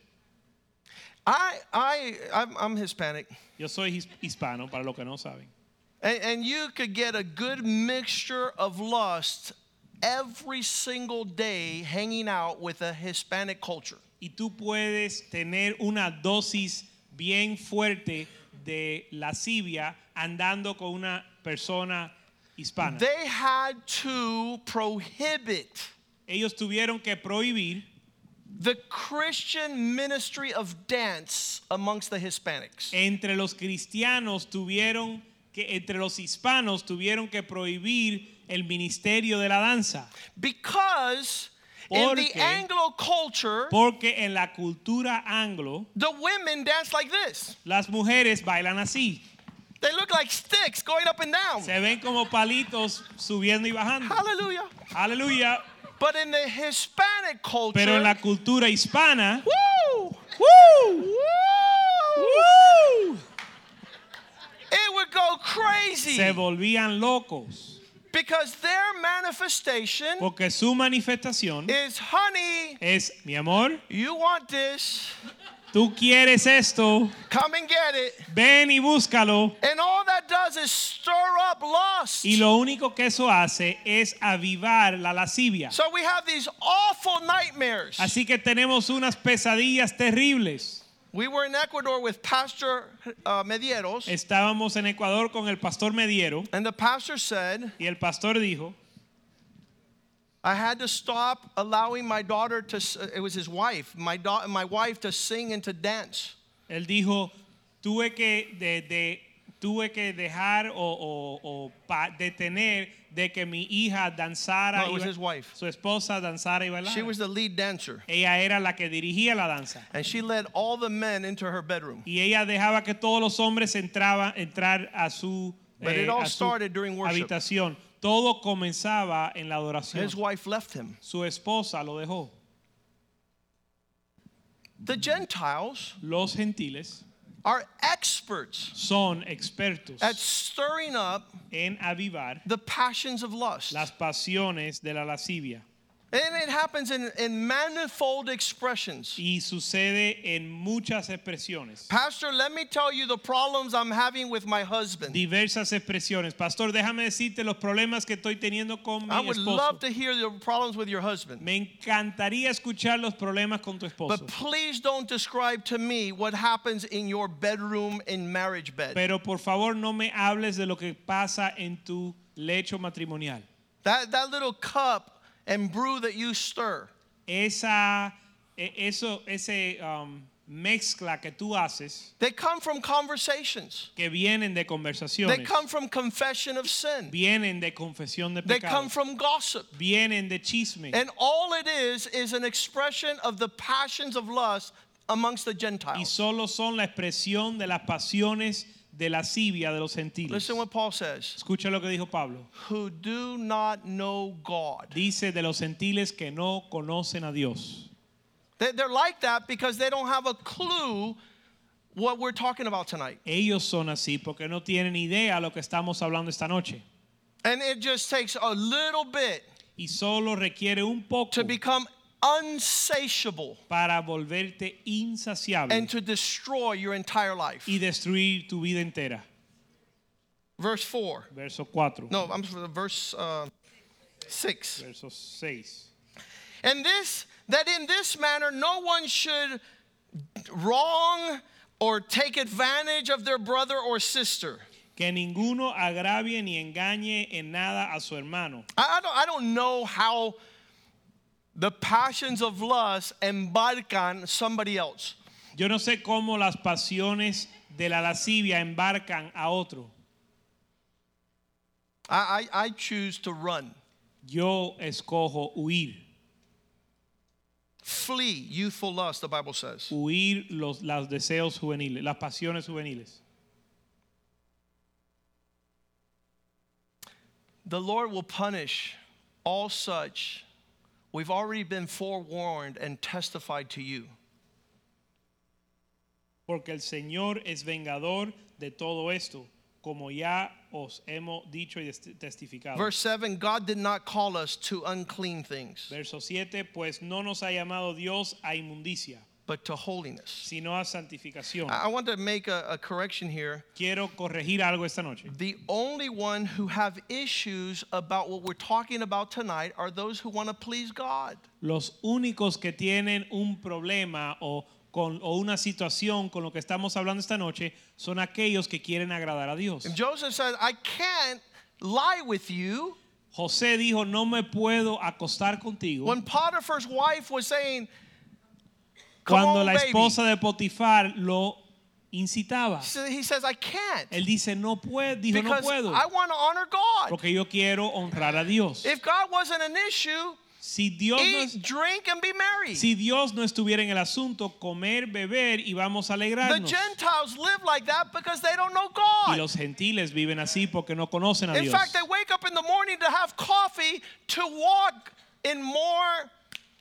I, I, I'm, I'm Hispanic. Yo soy his- hispano, para los que no saben. And, and you could get a good mixture of lust every single day hanging out with a Hispanic culture. Y tú puedes tener una dosis bien fuerte de lascivia andando con una persona hispana. They had to prohibit Ellos tuvieron que prohibir the Christian ministry of dance amongst the Hispanics. entre los cristianos tuvieron que entre los hispanos tuvieron que prohibir el ministerio de la danza Because in the Porque- Anglo culture, porque en la cultura anglo the women dance like this. las mujeres bailan así, They look like sticks going up and down. se ven como palitos subiendo y bajando. Hallelujah. Aleluya. But in the Hispanic culture, Pero en la cultura hispana, woo, ¡woo! woo, ¡woo! it would go crazy Se volvían locos because their manifestation porque su manifestación is, honey, es, mi amor, you want this, tú quieres esto, come and get it. ven y búscalo. And all that does is stir up lust. Y lo único que eso hace es avivar la lascivia. So we have these awful nightmares. Así que tenemos unas pesadillas terribles. We were in Ecuador with Pastor uh, Medieros, Estábamos en Ecuador con el pastor Mediero and the pastor said, y el pastor dijo, I had to stop allowing my daughter to, s- it was his wife, my, da- my wife to sing and to dance. él dijo, tuve que, de, de, tuve que dejar o, o, o pa- detener de que mi hija danzara, No, it y was ba- his wife. su esposa danzara y bailara. She was the lead dancer, Ella era la que dirigía la danza. and she led all the men into her bedroom. Y ella dejaba que todos los hombres entraban entrar a su, But eh, it all a su started during worship. habitación. Todo comenzaba en la adoración. His wife left him. Su esposa lo dejó. The Gentiles Los gentiles are experts son expertos at stirring up en avivar the passions of lust. las pasiones de la lascivia. And it happens in, in manifold expressions. Y sucede en muchas expresiones. Pastor, let me tell you the problems I'm having with my husband. Diversas expresiones. Pastor, déjame decirte los problemas que estoy teniendo con mi I would esposo. love to hear the problems with your husband. Me encantaría escuchar los problemas con tu esposo. But please don't describe to me what happens in your bedroom in marriage bed. Pero por favor no me hables de lo que pasa en tu lecho matrimonial. That, that little cup and brew that you stir. Esa, e- eso, ese um, mezcla que tú haces, They come from conversations. que vienen de They conversaciones, come from confession of sin. vienen de confesión de They pecado, come from gossip. vienen de chisme. And all it is is an expression of the passions of lust amongst the Y Gentiles. solo son la expresión de las pasiones de lascivia de los gentiles. Listen what Paul says. Escucha lo que dijo Pablo. Who do not know God. Dice de los gentiles que no conocen a Dios. They- They're like that because they don't have a clue what we're talking about tonight. Ellos son así porque no tienen idea lo que estamos hablando esta noche. And it just takes a little bit Y solo requiere un poco to become unsatiable para volverte insaciable and to destroy your entire life. y destruir tu vida entera. verse four. Verso cuatro. No, I'm sorry, verse uh, six. Verso seis. And this, that in this manner no one should wrong or take advantage of their brother or sister. Que ninguno agravie ni engañe en nada a su hermano. I, I, don't, I don't know how the passions of lust embarcan somebody else. Yo no sé cómo las pasiones de la lascivia embarcan a otro. I, I, I choose to run. Yo escojo huir. Flee youthful lust, the Bible says. Huir los, los deseos juveniles, las pasiones juveniles. The Lord will punish all such. We've already been forewarned and testified to you. Porque el Señor es vengador de todo esto, como ya os hemos dicho y testificado. Verse seven, God did not call us to unclean things, Verso siete, pues no nos ha llamado Dios a inmundicia, but to holiness. sino a santificación. I I want to make a, a correction here. Quiero corregir algo esta noche. The only one who have issues about what we're talking about tonight are those who want to please God. Los únicos que tienen un problema o Con, o una situación con lo que estamos hablando esta noche son aquellos que quieren agradar a Dios. And Joseph said, I can't lie with you. José dijo, no me puedo acostar contigo. When Potiphar's wife was saying, come Cuando on, la baby. esposa de Potifar lo incitaba. So he says, I can't. Él dice, no puedo, dijo, no Because puedo. I want to honor God. Porque yo quiero honrar a Dios. If God wasn't an issue, Si Dios, no, eat, drink, and be merry. si Dios no estuviera en el asunto, comer, beber y vamos a The alegrarnos. Gentiles live like that because they don't know Y God. los gentiles viven así porque no conocen a In Dios. fact, they wake up in the morning to have coffee to walk in more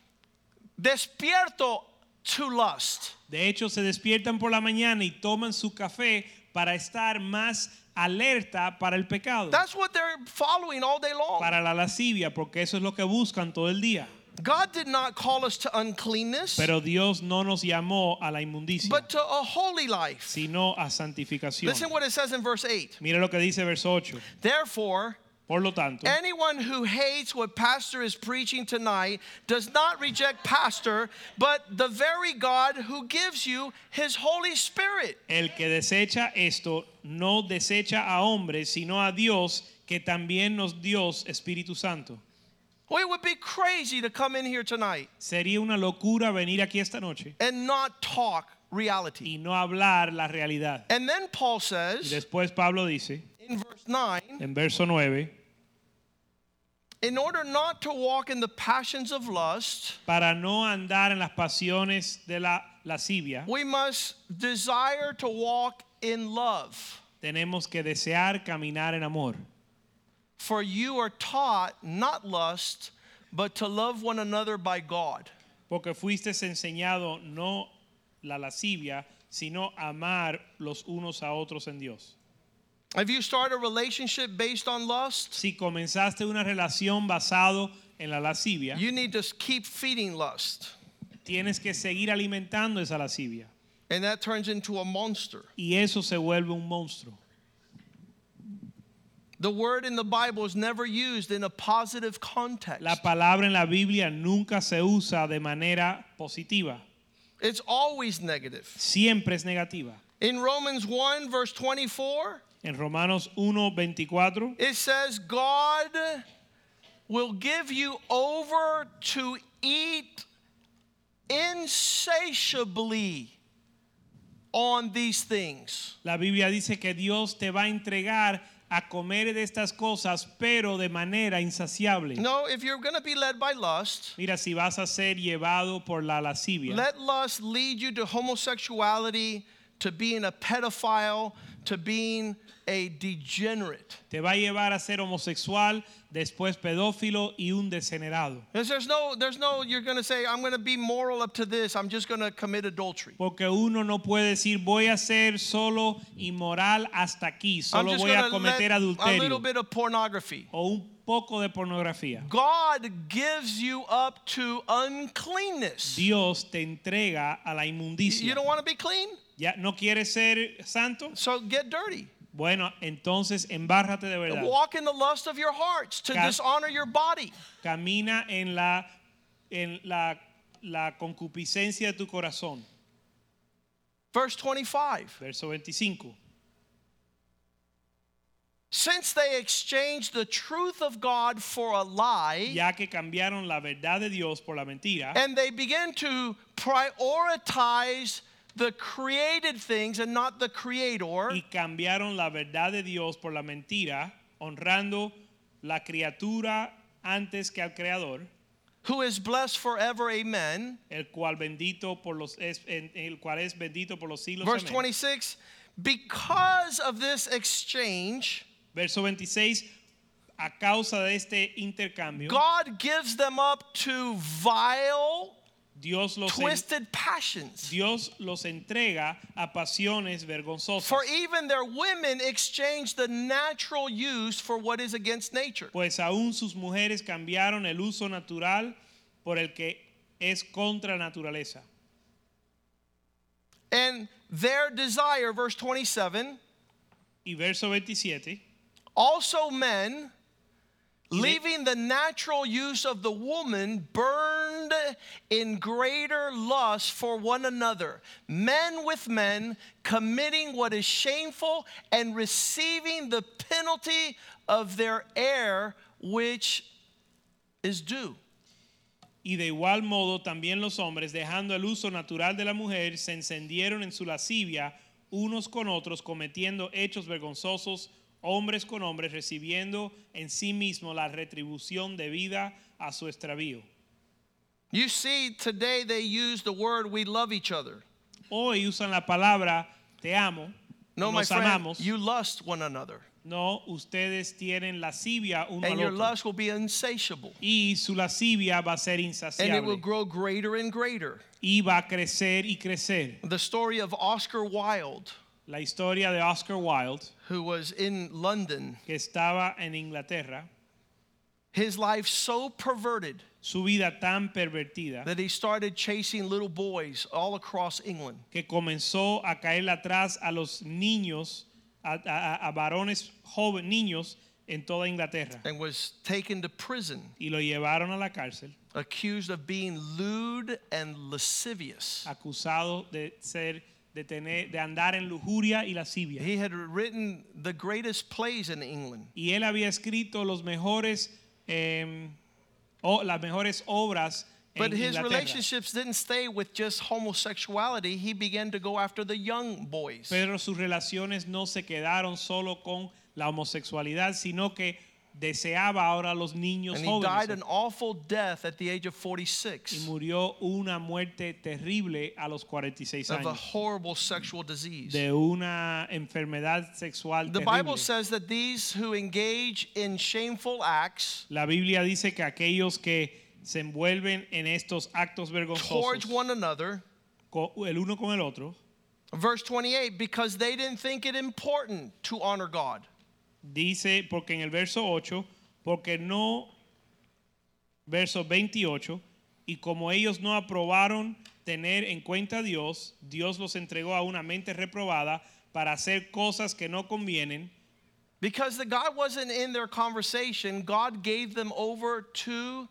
despierto to lust. De hecho, se despiertan por la mañana y toman su café para estar más alerta para el pecado, That's what they're following all day long. para la lascivia, porque eso es lo que buscan todo el día. God did not call us to uncleanness, Pero Dios no nos llamó a la inmundicia, but to a holy life. sino a santificación. Listen what it says in verse eight. Mira lo que dice verso ocho. Therefore, Por lo tanto, anyone who hates what pastor is preaching tonight does not reject pastor, but the very God who gives you his Holy Spirit. el que desecha esto no desecha a hombres, sino a Dios, que también nos dio Espíritu Santo. Well, it would be crazy to come in here tonight Sería una locura venir aquí esta noche and not talk reality. y no hablar la realidad. And then Paul Y says después Pablo dice in verse nine, en verso nueve, in order not to walk in the passions of lust, para no andar en las pasiones de la lascivia, we must desire to walk in love. tenemos que desear caminar en amor. For you are taught not lust, but to love one another by God. Porque fuiste enseñado no la lascivia, sino amar los unos a otros en Dios. Have you started a relationship based on lust? Si comenzaste una relación basado en la lascivia, You need to keep feeding lust. tienes que seguir alimentando esa lascivia. And that turns into a monster. Y eso se vuelve un monstruo. The word in the Bible is never used in a positive context. La palabra en la Biblia nunca se usa de manera positiva. It's always negative. Siempre es negativa. In Romans one, verse twenty-four, En Romanos uno veinticuatro it says, God will give you over to eat insatiably on these things. la Biblia dice que Dios te va a entregar a comer de estas cosas, pero de manera insaciable. No, if you're going to be led by lust, Mira, si vas a ser llevado por la lascivia, let lust lead you to homosexuality, to being a pedophile, to being a degenerate. te va a llevar a ser homosexual, después pedófilo y un degenerado. Because there's no, there's no, you're going to say, I'm going to be moral up to this, I'm just going to commit adultery. Porque uno no puede decir, voy a ser solo inmoral hasta aquí, I'm solo just voy a going to cometer let a little adulterio bit of pornography. o un poco de pornografía. God gives you up to uncleanness. Dios te entrega a la You inmundicia. don't want to be clean? ¿Ya no quieres ser santo? So get dirty. Bueno, entonces embárrate de verdad. Walk in the lust of your hearts to Ca- dishonor your body. Camina en la en la la concupiscencia de tu corazón. Verse twenty-five. Verso veinticinco. Since they exchanged the truth of God for a lie, Ya que cambiaron la verdad de Dios por la mentira and they began to prioritize the created things and not the creator, y cambiaron la verdad de Dios por la mentira, honrando la criatura antes que al creador, who is blessed forever, amen. el cual bendito por los es, en- el cual es bendito por los siglos. Verse Amén. twenty-six, because of this exchange, Verso veintiséis, a causa de este intercambio, God gives them up to vile, Dios los en- twisted passions. Dios los entrega a pasiones vergonzosas. For even their women exchange the natural use for what is against nature. Pues aún sus mujeres cambiaron el uso natural por el que es contra naturaleza. And their desire, verse twenty-seven, Y verso veintisiete, also men, Y de- leaving the natural use of the woman, burned in greater lust for one another, men with men, committing what is shameful and receiving the penalty of their error, which is due. y de igual modo también los hombres, dejando el uso natural de la mujer, se encendieron en su lascivia unos con otros, cometiendo hechos vergonzosos, hombres con hombres, recibiendo en sí mismo la retribución debida a su extravío. You see, today they use the word we love each other. Hoy usan la palabra te amo, No, my nos friend, amamos. you lust one another. No, ustedes tienen lascivia uno And al your otro. lust will be insatiable. Y su lascivia va a ser And it will insaciable. grow greater and greater. Y va a crecer y crecer. The story of Oscar Wilde, La historia de Oscar Wilde, who was in London, que estaba en Inglaterra, his life so perverted su vida tan pervertida, that he started chasing little boys all across England. que comenzó a caerle atrás a los niños, a, a- a varones jóvenes, niños en toda Inglaterra. And was taken to prison, Y lo llevaron a la cárcel, accused of being lewd and lascivious. acusado de ser, de tener, de andar en lujuria y lascivia. He had written the greatest plays in England. Y él había escrito los mejores, eh, o, las mejores obras But en his Inglaterra. relationships didn't stay with just homosexuality. He began to go after the young boys. Pero sus relaciones no se quedaron solo con la homosexualidad, sino que deseaba ahora a los niños And he died jóvenes. an awful death at the age of Y forty-six murió una muerte terrible a los cuarenta y seis of a años horrible sexual disease. de una enfermedad sexual The terrible. Bible says that these who engage in shameful acts La Biblia dice que aquellos que se envuelven en estos actos towards vergonzosos one another, co- el uno con el otro, verse twenty-eight, because they didn't think it important to honor God. dice, porque en el verso ocho, porque no, verso veintiocho, y como ellos no aprobaron tener en cuenta a Dios, Dios los entregó a una mente reprobada para hacer cosas que no convienen. Because the God wasn't in their conversation, God gave them over to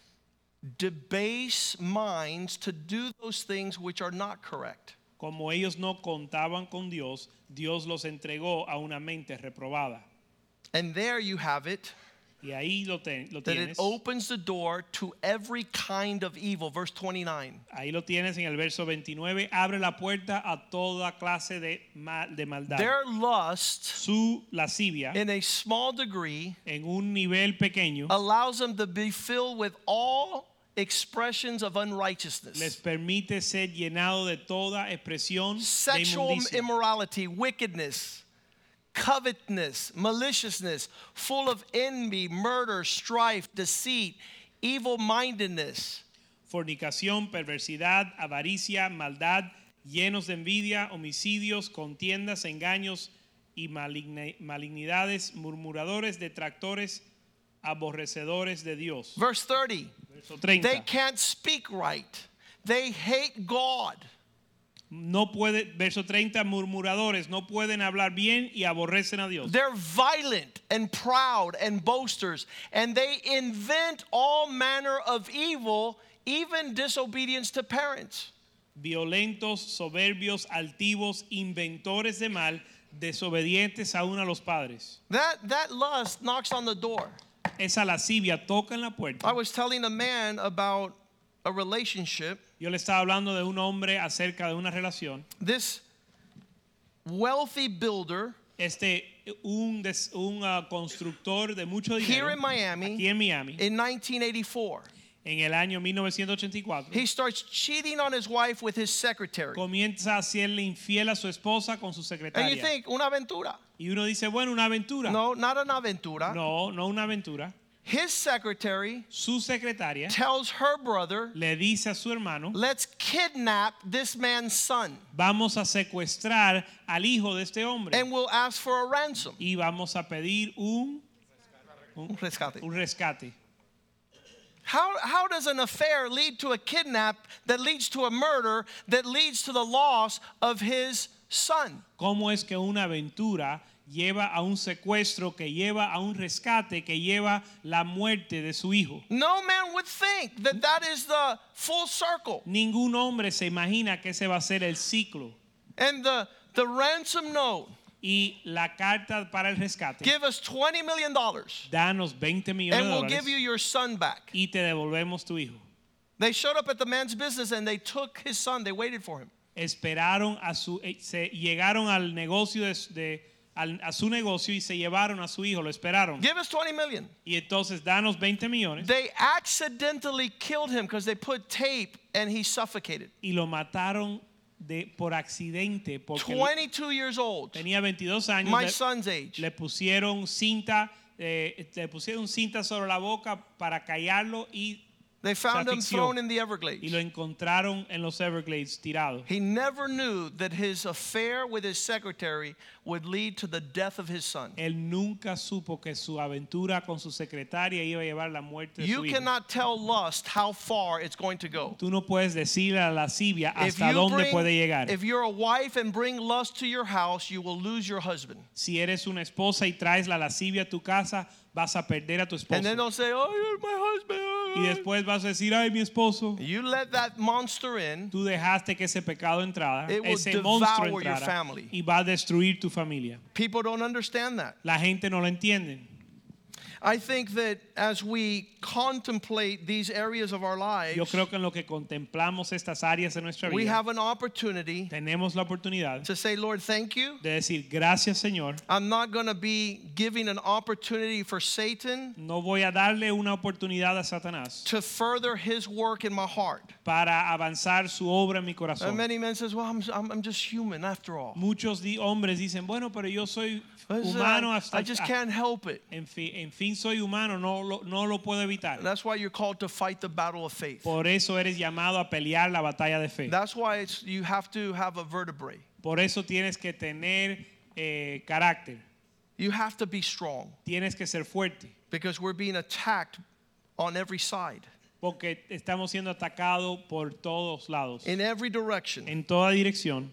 debase minds to do those things which are not correct. Como ellos no contaban con Dios, Dios los entregó a una mente reprobada. And there you have it, Y ahí lo, ten- lo that it tienes. opens the door to every kind of evil. Verse twenty-nine. Ahí lo tienes en el verso veintinueve. Abre la puerta a toda clase de, ma- de maldad. Their lust, Su lascivia, in a small degree, en un nivel pequeño, allows them to be filled with all expressions of les unrighteousness. permite ser llenado de toda expresión de Sexual inmundicia. immorality, wickedness, covetousness, maliciousness, full of envy, murder, strife, deceit, evil-mindedness. Fornicación, perversidad, avaricia, maldad, llenos de envidia, homicidios, contiendas, engaños y maligna- malignidades, murmuradores, detractores, aborrecedores de Dios. Verse thirty. Verso treinta. They can't speak right. They hate God. No puede, verso treinta, murmuradores no pueden hablar bien y aborrecen a Dios. They're violent and proud and boasters, and they invent all manner of evil, even disobedience to parents. Violentos, soberbios, altivos, inventores de mal, desobedientes aún a los padres. That, that lust knocks on the door. Esa lascivia toca en la puerta. I was telling a man about a relationship. Yo le estaba hablando de un hombre acerca de una relación. This wealthy builder Este, un, des, un uh, constructor de mucho dinero here in Miami aquí en Miami, in nineteen eighty-four. en el año mil novecientos ochenta y cuatro, He starts cheating on his wife with his secretary. comienza a hacerle infiel a su esposa con su And you secretaria. think, una aventura. Y uno dice, bueno, una aventura. No, not an aventura. No, no una aventura. His secretary Su secretaria tells her brother, le dice a su hermano, let's kidnap this man's son vamos a secuestrar al hijo de este hombre and we'll ask for a ransom. y vamos a pedir un, un, Rescate. un rescate. How, how does an affair lead to a kidnap that leads to a murder that leads to the loss of his son? ¿Cómo es que una aventura lleva a un secuestro, que lleva a un rescate, que lleva la muerte de su hijo? No man would think that that is the full circle. Ningún hombre se imagina que ese va a ser el ciclo. And the, the ransom note, Y la carta para el rescate, give us twenty million dollars danos veinte millones and de we'll dólares give you your son back. y te devolvemos tu hijo. They showed up at the man's business and they took his son. They waited for him. Esperaron a su, se llegaron al negocio de, de al, a su negocio y se llevaron a su hijo, lo esperaron. Give us twenty million. Y entonces danos veinte millones They accidentally killed him because they put tape and he suffocated. y lo mataron de por accidente porque twenty-two years old. tenía veintidós años. My le, son's age. le pusieron cinta, eh, le pusieron cinta sobre la boca para callarlo y They found him asfixió. thrown in the y lo Everglades. encontraron en los Everglades tirado. He never knew that his affair with his secretary would lead to the death of his son. Él nunca supo que su aventura con su secretaria iba a llevar la muerte de You su hijo. cannot tell lust how far it's going to go. Tú no puedes decirle a la lascivia If hasta you dónde bring- puede llegar. if you're a wife and bring lust to your house, you will lose your husband. Si eres una esposa y traes la lascivia a tu casa, vas a perder a tu esposo. And then they'll say, oh, you're my husband. Y después vas a decir, ay, mi esposo. You let that monster in, Tú dejaste que ese pecado entrara, It will ese monstruo devour your entrara family. y va a destruir tu familia. people don't understand that. La gente no lo entiende. I think that as we contemplate these areas of our lives, Yo creo que en lo que contemplamos estas áreas de nuestra we vida, have an opportunity tenemos la oportunidad to say, Lord, thank you. de decir, gracias Señor, I'm not going to be giving an opportunity for Satan no voy a darle una oportunidad a Satanás to further his work in my heart. para avanzar su obra en mi And corazón. many men says, well, I'm, I'm, I'm just human after all. Muchos di- hombres dicen, bueno, pero yo soy Listen, humano I, hasta I just can't help it. En fin, en fin, soy humano, no lo, no lo puedo evitar. That's why you're called to fight the battle of faith. Por eso eres llamado a pelear la batalla de fe. That's why it's, you have to have a vertebrae. Por eso tienes que tener eh, carácter. You have to be strong Tienes que ser fuerte. because we're being attacked on every side, Porque estamos siendo atacados por todos lados. in every direction. En toda dirección.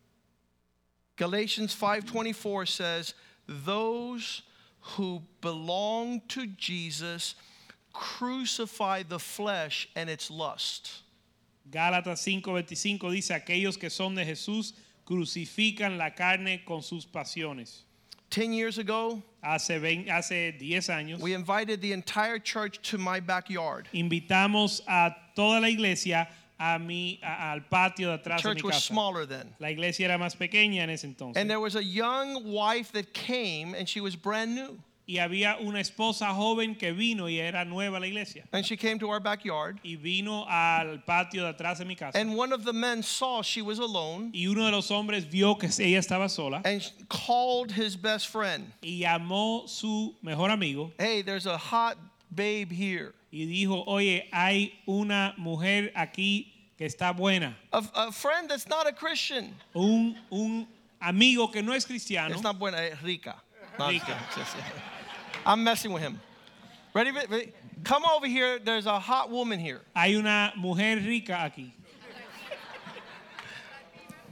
Galatians five twenty-four says, those who belong to Jesus crucify the flesh and its lust. Gálatas cinco veinticinco dice, aquellos que son de Jesús crucifican la carne con sus pasiones. Ten years ago, Hace, veinte, hace diez años we invited the entire church to my backyard. invitamos a toda la iglesia a mi, a- al patio de atrás de mi Church was casa. smaller then. La iglesia era más pequeña en ese entonces. And there was a young wife that came and she was brand new. Y había una esposa joven que vino y era nueva la iglesia. And she came to our backyard. Y vino al patio de atrás de mi casa. And one of the men saw she was alone Y uno de los hombres vio que ella estaba sola and called his best friend. y llamó su mejor amigo Hey, there's a hot babe here. y dijo, oye, hay una mujer aquí que está buena. A, a friend that's not a Christian. Un, un amigo que no es cristiano. It's not buena, eh, rica. No, Rica. I'm messing with him. Ready, ready? Come over here. There's a hot woman here. Hay una mujer rica aquí.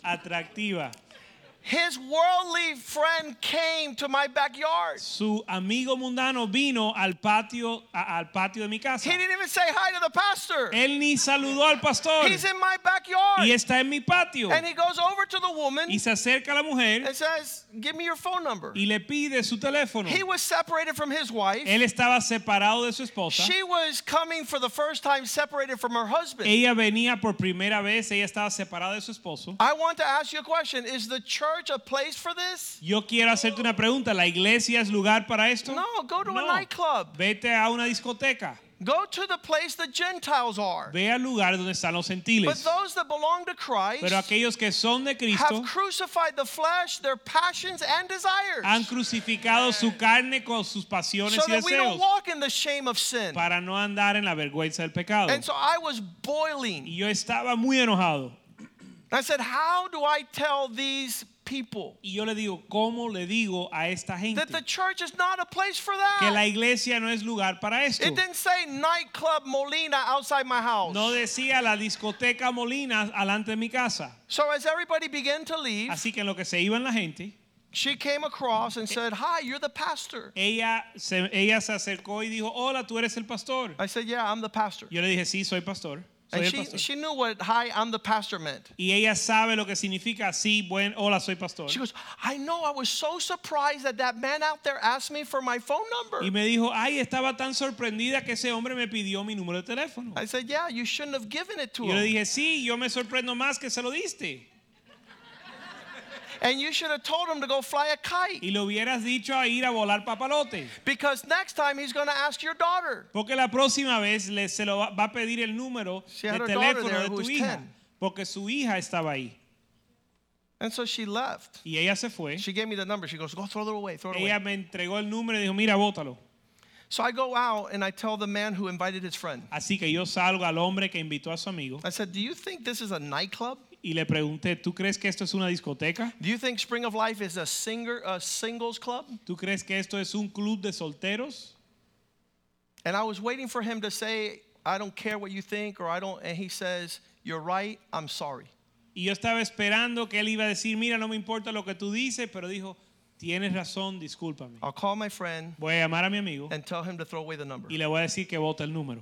atractiva. His worldly friend came to my backyard. Su amigo mundano vino al patio a, al patio de mi casa. He didn't even say hi to the pastor. Él ni saludó al pastor. He's in my backyard. Y está en mi patio. And he goes over to the woman Y se acerca a la mujer and says, "Give me your phone number." y le pide su teléfono. He was separated from his wife. Él estaba separado de su esposa. She was coming for the first time separated from her husband. Ella venía por primera vez, ella estaba separada de su esposo. I want to ask you a question. Is the church a place for this? Yo quiero hacerte una pregunta. ¿La iglesia es lugar para esto? No, go to No. a nightclub. Vete a una discoteca. Go to the place the Gentiles are. Ve al lugar donde están los But gentiles. those that belong to Christ Pero aquellos que son de Cristo have crucified the flesh, their passions and desires, han crucificado su carne con sus pasiones so y that we don't deseos walk in the shame of sin. para no andar en la vergüenza del pecado. And so I was boiling. Y yo estaba muy enojado. I said, how do I tell these people Y yo le digo, ¿cómo le digo a esta gente that the church is not a place for que la that? iglesia no es lugar para esto? It didn't say nightclub Molina outside my house. No decía la discoteca Molina alante de mi casa. So as everybody began to leave, Así que en lo que se iban la gente, she came across and said, "Hi, you're the pastor." ella se, ella se acercó y dijo, hola, tú eres el pastor. I said, "Yeah, I'm the pastor." Yo le dije, sí, soy pastor. Soy And el she, pastor. she knew what "Hi, I'm the pastor" meant. Y ella sabe lo que significa, sí, buen, hola, soy pastor. She goes, "I know, I was so surprised that that man out there asked me for my phone number." Y me dijo, ay, estaba tan sorprendida que ese hombre me pidió mi número de teléfono. I said, "Yeah, you shouldn't have given it to Y yo le him. dije, sí, yo me sorprendo más que se lo diste. And you should have told him to go fly a kite. Y le hubieras dicho a ir a volar papalote. Because next time he's going to ask your daughter." Porque la próxima vez le, se lo va, va a pedir el número She de had her daughter teléfono there de who tu was hija. ten. Porque su hija estaba ahí. And so she left. Y ella se fue. She gave me the number. She goes, "Go throw it away, throw it away." Ella me entregó el número y dijo, mira, bótalo. So I go out and I tell the man who invited his friend. Así que yo salgo al hombre que invitó a su amigo I said, "Do you think this is a nightclub? y le pregunté, ¿tú crees que esto es una discoteca? Do you think Spring of Life is a singer a singles club?" ¿Tú crees que esto es un club de solteros? And I was waiting for him to say, "I don't care what you think," or "I don't," and he says, "You're right, I'm sorry." Y yo estaba esperando que él iba a decir, mira, no me importa lo que tú dices, pero dijo, tienes razón, discúlpame. I'll call my friend Voy a llamar a mi amigo and tell him to throw away the number. y le voy a decir que vote el número.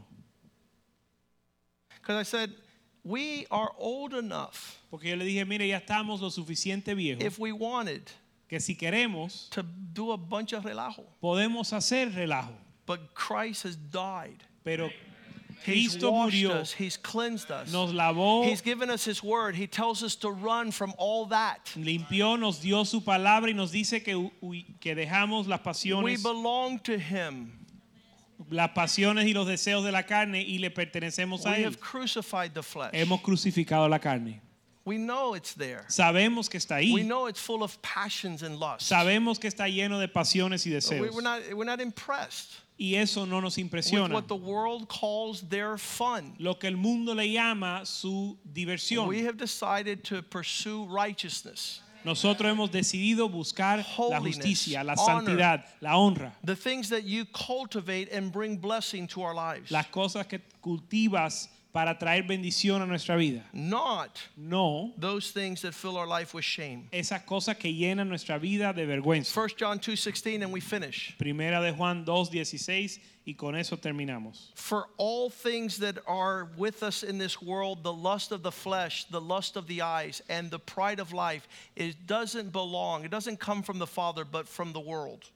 Because I said, we are old enough, Porque yo le dije, mire, ya estamos lo suficiente viejos if we wanted, que si queremos, to do a bunch of relajo. podemos hacer relajo. But Christ has died. Pero He's Cristo washed murió, us. He's cleansed us. nos lavó, He's given us His word. He tells us to run from all that. limpió, nos dio su palabra y nos dice que, hu- que dejamos las We pasiones, belong to Him. las pasiones y los deseos de la carne y le pertenecemos a We Él. have crucified the flesh. Hemos crucificado la carne. We know it's there. Sabemos que está We ahí. know it's full of passions and lusts. Sabemos que está lleno de pasiones y We- deseos. We're not, we're not impressed Y eso no nos with impresiona. what the world calls their fun. Lo que el mundo le llama su diversión. We have decided to pursue righteousness, Nosotros hemos decidido buscar la Holiness, justicia, la honor. santidad, la honra, the things that you cultivate and bring blessing to our lives. las cosas que cultivas para traer bendición a nuestra vida. Not No those things that fill our life with shame. esas cosas que llenan nuestra vida de vergüenza. First John two sixteen, and we finish. Primera de Juan dos dieciséis y con eso terminamos. For all things that are with us in this world, the lust of the flesh, the lust of the eyes, and the pride of life, it doesn't belong. It doesn't come from the Father, but from the world.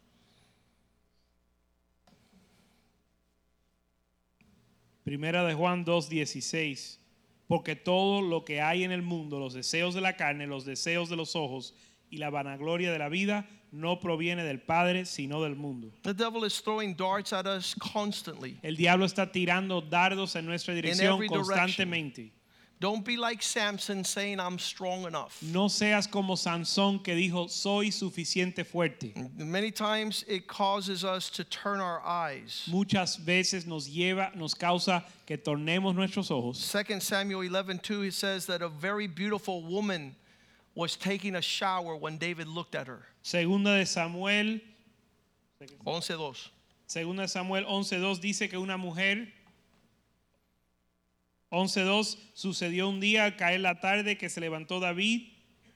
Primera de Juan dos dieciséis. Porque todo lo que hay en el mundo, los deseos de la carne, los deseos de los ojos y la vanagloria de la vida, no proviene del Padre, sino del mundo. The devil is throwing darts at us constantly. El diablo está tirando dardos en nuestra dirección every direction. constantemente. Don't be like Samson saying, "I'm strong enough." No seas como Sansón que dijo, soy suficiente fuerte. Many times it causes us to turn our eyes. Muchas veces nos lleva, nos causa que tornemos nuestros ojos. Second Samuel eleven two, it says that a very beautiful woman was taking a shower when David looked at her. Segunda de Samuel, eleven two. Segunda de Samuel once dos dice que una mujer once dos sucedió un día al caer la tarde que se levantó David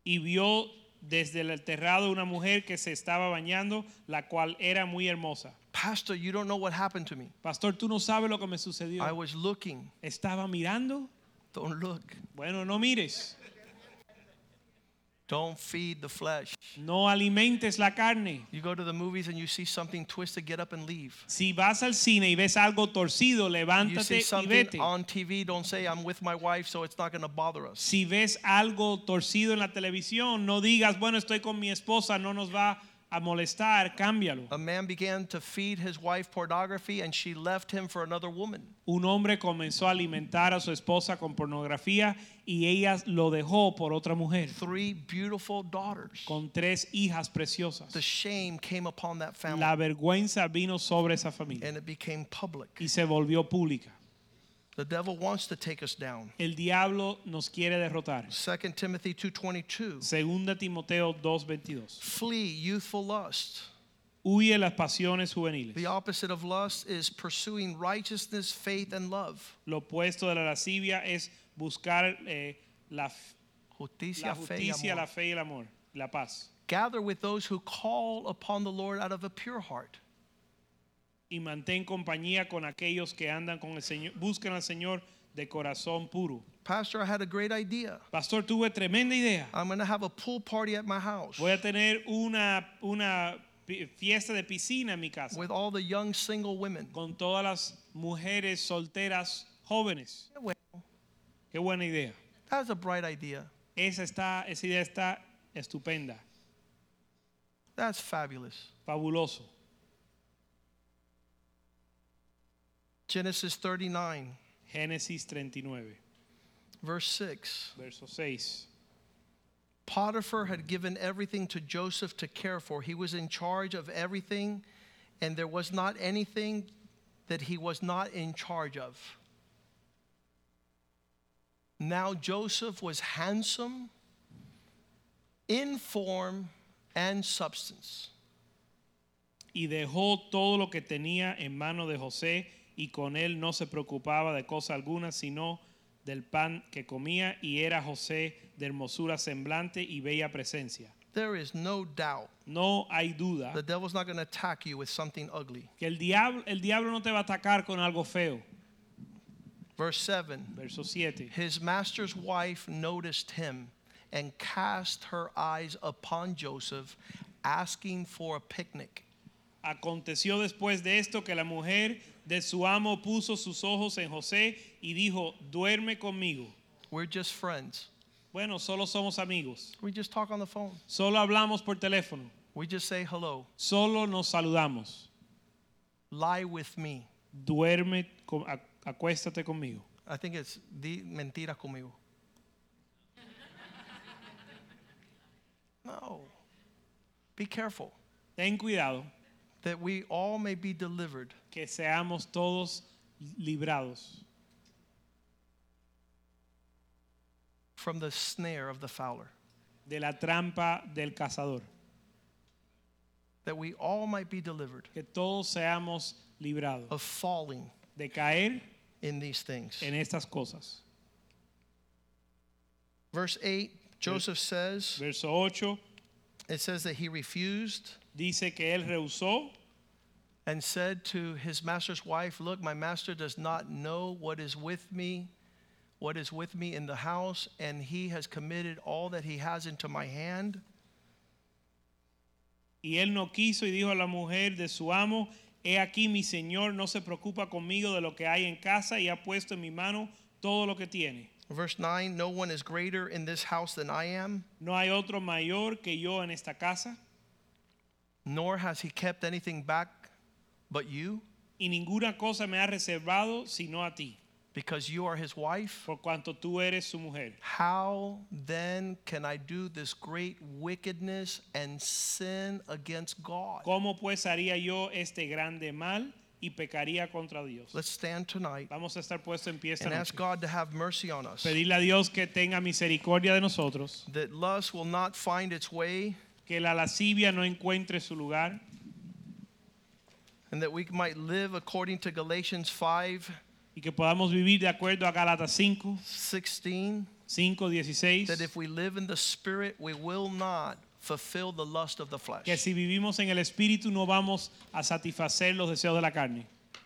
y vio desde el terrado una mujer que se estaba bañando, la cual era muy hermosa. Pastor, you don't know what happened to me. Pastor, tú no sabes lo que me sucedió. I was looking. Estaba mirando. Don't look. Bueno, no mires. Don't feed the flesh. No alimentes la carne. You go to the movies and you see something twisted, get up and leave. Si vas al cine y ves algo torcido, You levántate see y something vete. on T V, don't say I'm with my wife, so it's not going to bother us. Si ves algo torcido en la televisión, no digas, bueno, estoy con mi esposa, no nos va a molestar, cámbialo. A man began to feed his wife pornography and she left him for another woman. Un hombre comenzó a alimentar a su esposa con pornografía y ella lo dejó por otra mujer, Three beautiful daughters. con tres hijas preciosas. The shame came upon that family La vergüenza vino sobre esa familia and it became public. y se volvió pública. The devil wants to take us down. El diablo nos quiere derrotar. Second Timothy two twenty-two. Segunda Timoteo dos veintidós. Flee youthful lust. Huye las pasiones juveniles. The opposite of lust is pursuing righteousness, faith, and love. Lo opuesto de la lascivia es buscar eh, la, Justicia, la fe, y justicia, amor. la fe y el amor, la paz. Gather with those who call upon the Lord out of a pure heart. Y mantén compañía con aquellos que andan con el Señor, buscan al Señor de corazón puro. Pastor, I had a great idea. Pastor, tuve tremenda idea. I'm going to have a pool party at my house Voy a tener una, una pi- fiesta de piscina en mi casa with all the young single women. con todas las mujeres solteras jóvenes. Well, Qué buena idea. that's a bright idea. Esa, está, esa idea está estupenda, That's fabulous. fabuloso. Genesis thirty-nine, Génesis treinta y nueve, verse six. verso seis. Potiphar had given everything to Joseph to care for. He was in charge of everything, and there was not anything that he was not in charge of. Now Joseph was handsome in form and substance. Y dejó todo lo que tenía en mano de José, y con él no se preocupaba de cosa alguna, sino del pan que comía, y era José de hermosura semblante y bella presencia. There is no doubt No hay duda the devil's not going to attack you with something ugly. que el diablo, el diablo no te va a atacar con algo feo. Verse seven. Verso siete. His master's wife noticed him and cast her eyes upon Joseph, asking for a picnic. Aconteció después de esto que la mujer de su amo puso sus ojos en José y dijo, duerme conmigo. We're just friends. Bueno, solo somos amigos. We just talk on the phone. Solo hablamos por teléfono. We just say hello. Solo nos saludamos. Lie with me. Duerme, con- ac- acuéstate conmigo. I think it's di mentiras conmigo. No. Be careful Ten cuidado that we all may be delivered que seamos todos librados from the snare of the fowler. de la trampa del cazador. That we all might be delivered Que todos seamos librados of falling de caer in these things. en estas cosas. Verse eight, Joseph says, Verso ocho it says that he refused dice que él rehusó and said to his master's wife, look, my master does not know what is with me, what is with me in the house, and he has committed all that he has into my hand. y él no quiso y dijo a la mujer de su amo, he aquí mi señor no se preocupa conmigo de lo que hay en casa y ha puesto en mi mano todo lo que tiene. Verse nine, no one is greater in this house than I am, No hay otro mayor que yo en esta casa, nor has he kept anything back but you, y ninguna cosa me ha reservado sino a ti, because you are his wife. por cuanto tú eres su mujer. How then can I do this great wickedness and sin against God? ¿Cómo pues haría yo este grande mal y pecaría contra Dios? Let's stand tonight Vamos a estar puestos en pie esta and ask noche. God to have mercy on us, Pedirle a Dios que tenga misericordia de nosotros, that lust will not find its way, que la lascivia no encuentre su lugar, and that we might live according to Galatians five y que podamos vivir de acuerdo a Gálatas cinco, sixteen. cinco dieciséis. that if we live in the Spirit, we will not fulfill the lust of the flesh. Que si vivimos en el Espíritu no vamos a satisfacer los deseos de la carne.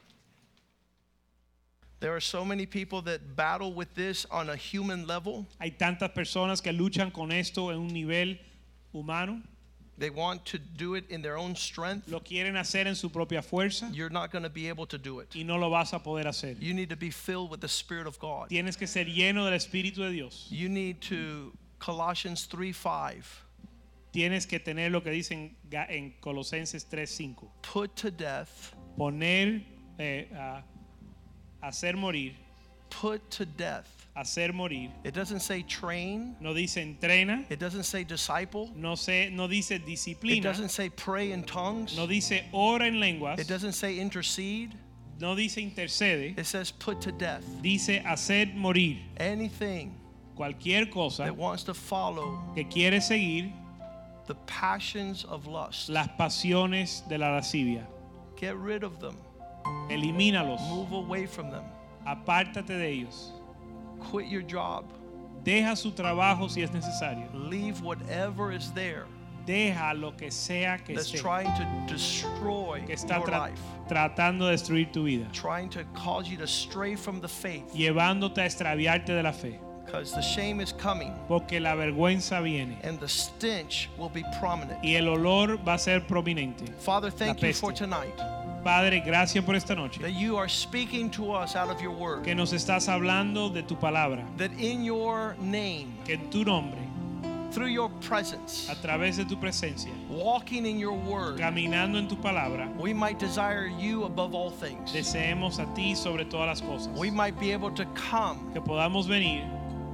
There are so many people that battle with this on a human level. Hay tantas personas que luchan con esto en un nivel humano. They want to do it in their own strength. Lo quieren hacer en su propia fuerza You're not going to be able to do it. y no lo vas a poder hacer. You need to be filled with the Spirit of God. Tienes que ser lleno del Espíritu de Dios. You need to, Colossians three five, Tienes que tener lo que dicen en Colosenses tres cinco. put to death, Poner, eh, a, hacer morir, put to death. hacer morir. It doesn't say train. No dice entrena, It doesn't say disciple. no, se, no dice It disciplina, doesn't say pray in tongues. no dice ora en lenguas, It doesn't say intercede. no dice intercede, It says put to death. dice hacer morir. Anything Cualquier cosa that wants to follow que quiere seguir the passions of lust, las pasiones de la lascivia. get rid of them. Elimínalos, Move away from them. apártate de ellos. Quit your job. Deja su trabajo si es necesario. Leave whatever is there Deja lo que sea que that's esté, trying to destroy que está your tra- life, tratando de destruir tu vida, trying to cause you to stray from the faith, llevándote a extraviarte de la fe, because the shame is coming porque la vergüenza viene and the stench will be prominent. y el olor va a ser prominente. Father, thank La you for peste. tonight Padre, gracias por esta noche, that you are speaking to us out of your word, que nos estás hablando de tu palabra, that in your name, que en tu nombre, through your presence, a través de tu presencia, walking in your word, caminando en tu palabra, we might desire you above all things. deseemos a ti sobre todas las cosas, We might be able to come que podamos venir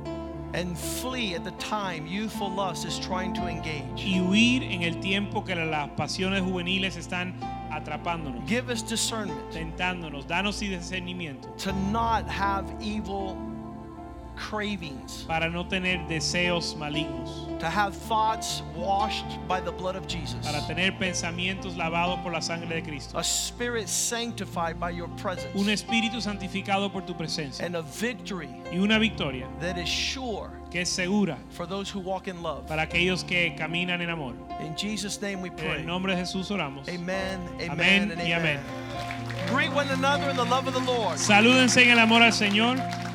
and flee at the time youthful lust is trying to engage. y huir en el tiempo que las pasiones juveniles están atrapándonos, Give us discernment tentándonos. Danos y discernimiento to not have evil cravings, para no tener deseos malignos, to have thoughts washed by the blood of Jesus, para tener pensamientos lavados por la sangre de Cristo, a spirit sanctified by your un presence, espíritu santificado por tu presencia and a victory y una victoria that is sure que es segura for those who walk in love. para aquellos que caminan en amor. In Jesus' name we En pray. el nombre de Jesús oramos. Amen, amen, Amén and y amen. amén. Greet one another in the love of the Lord. Salúdense en el amor al Señor.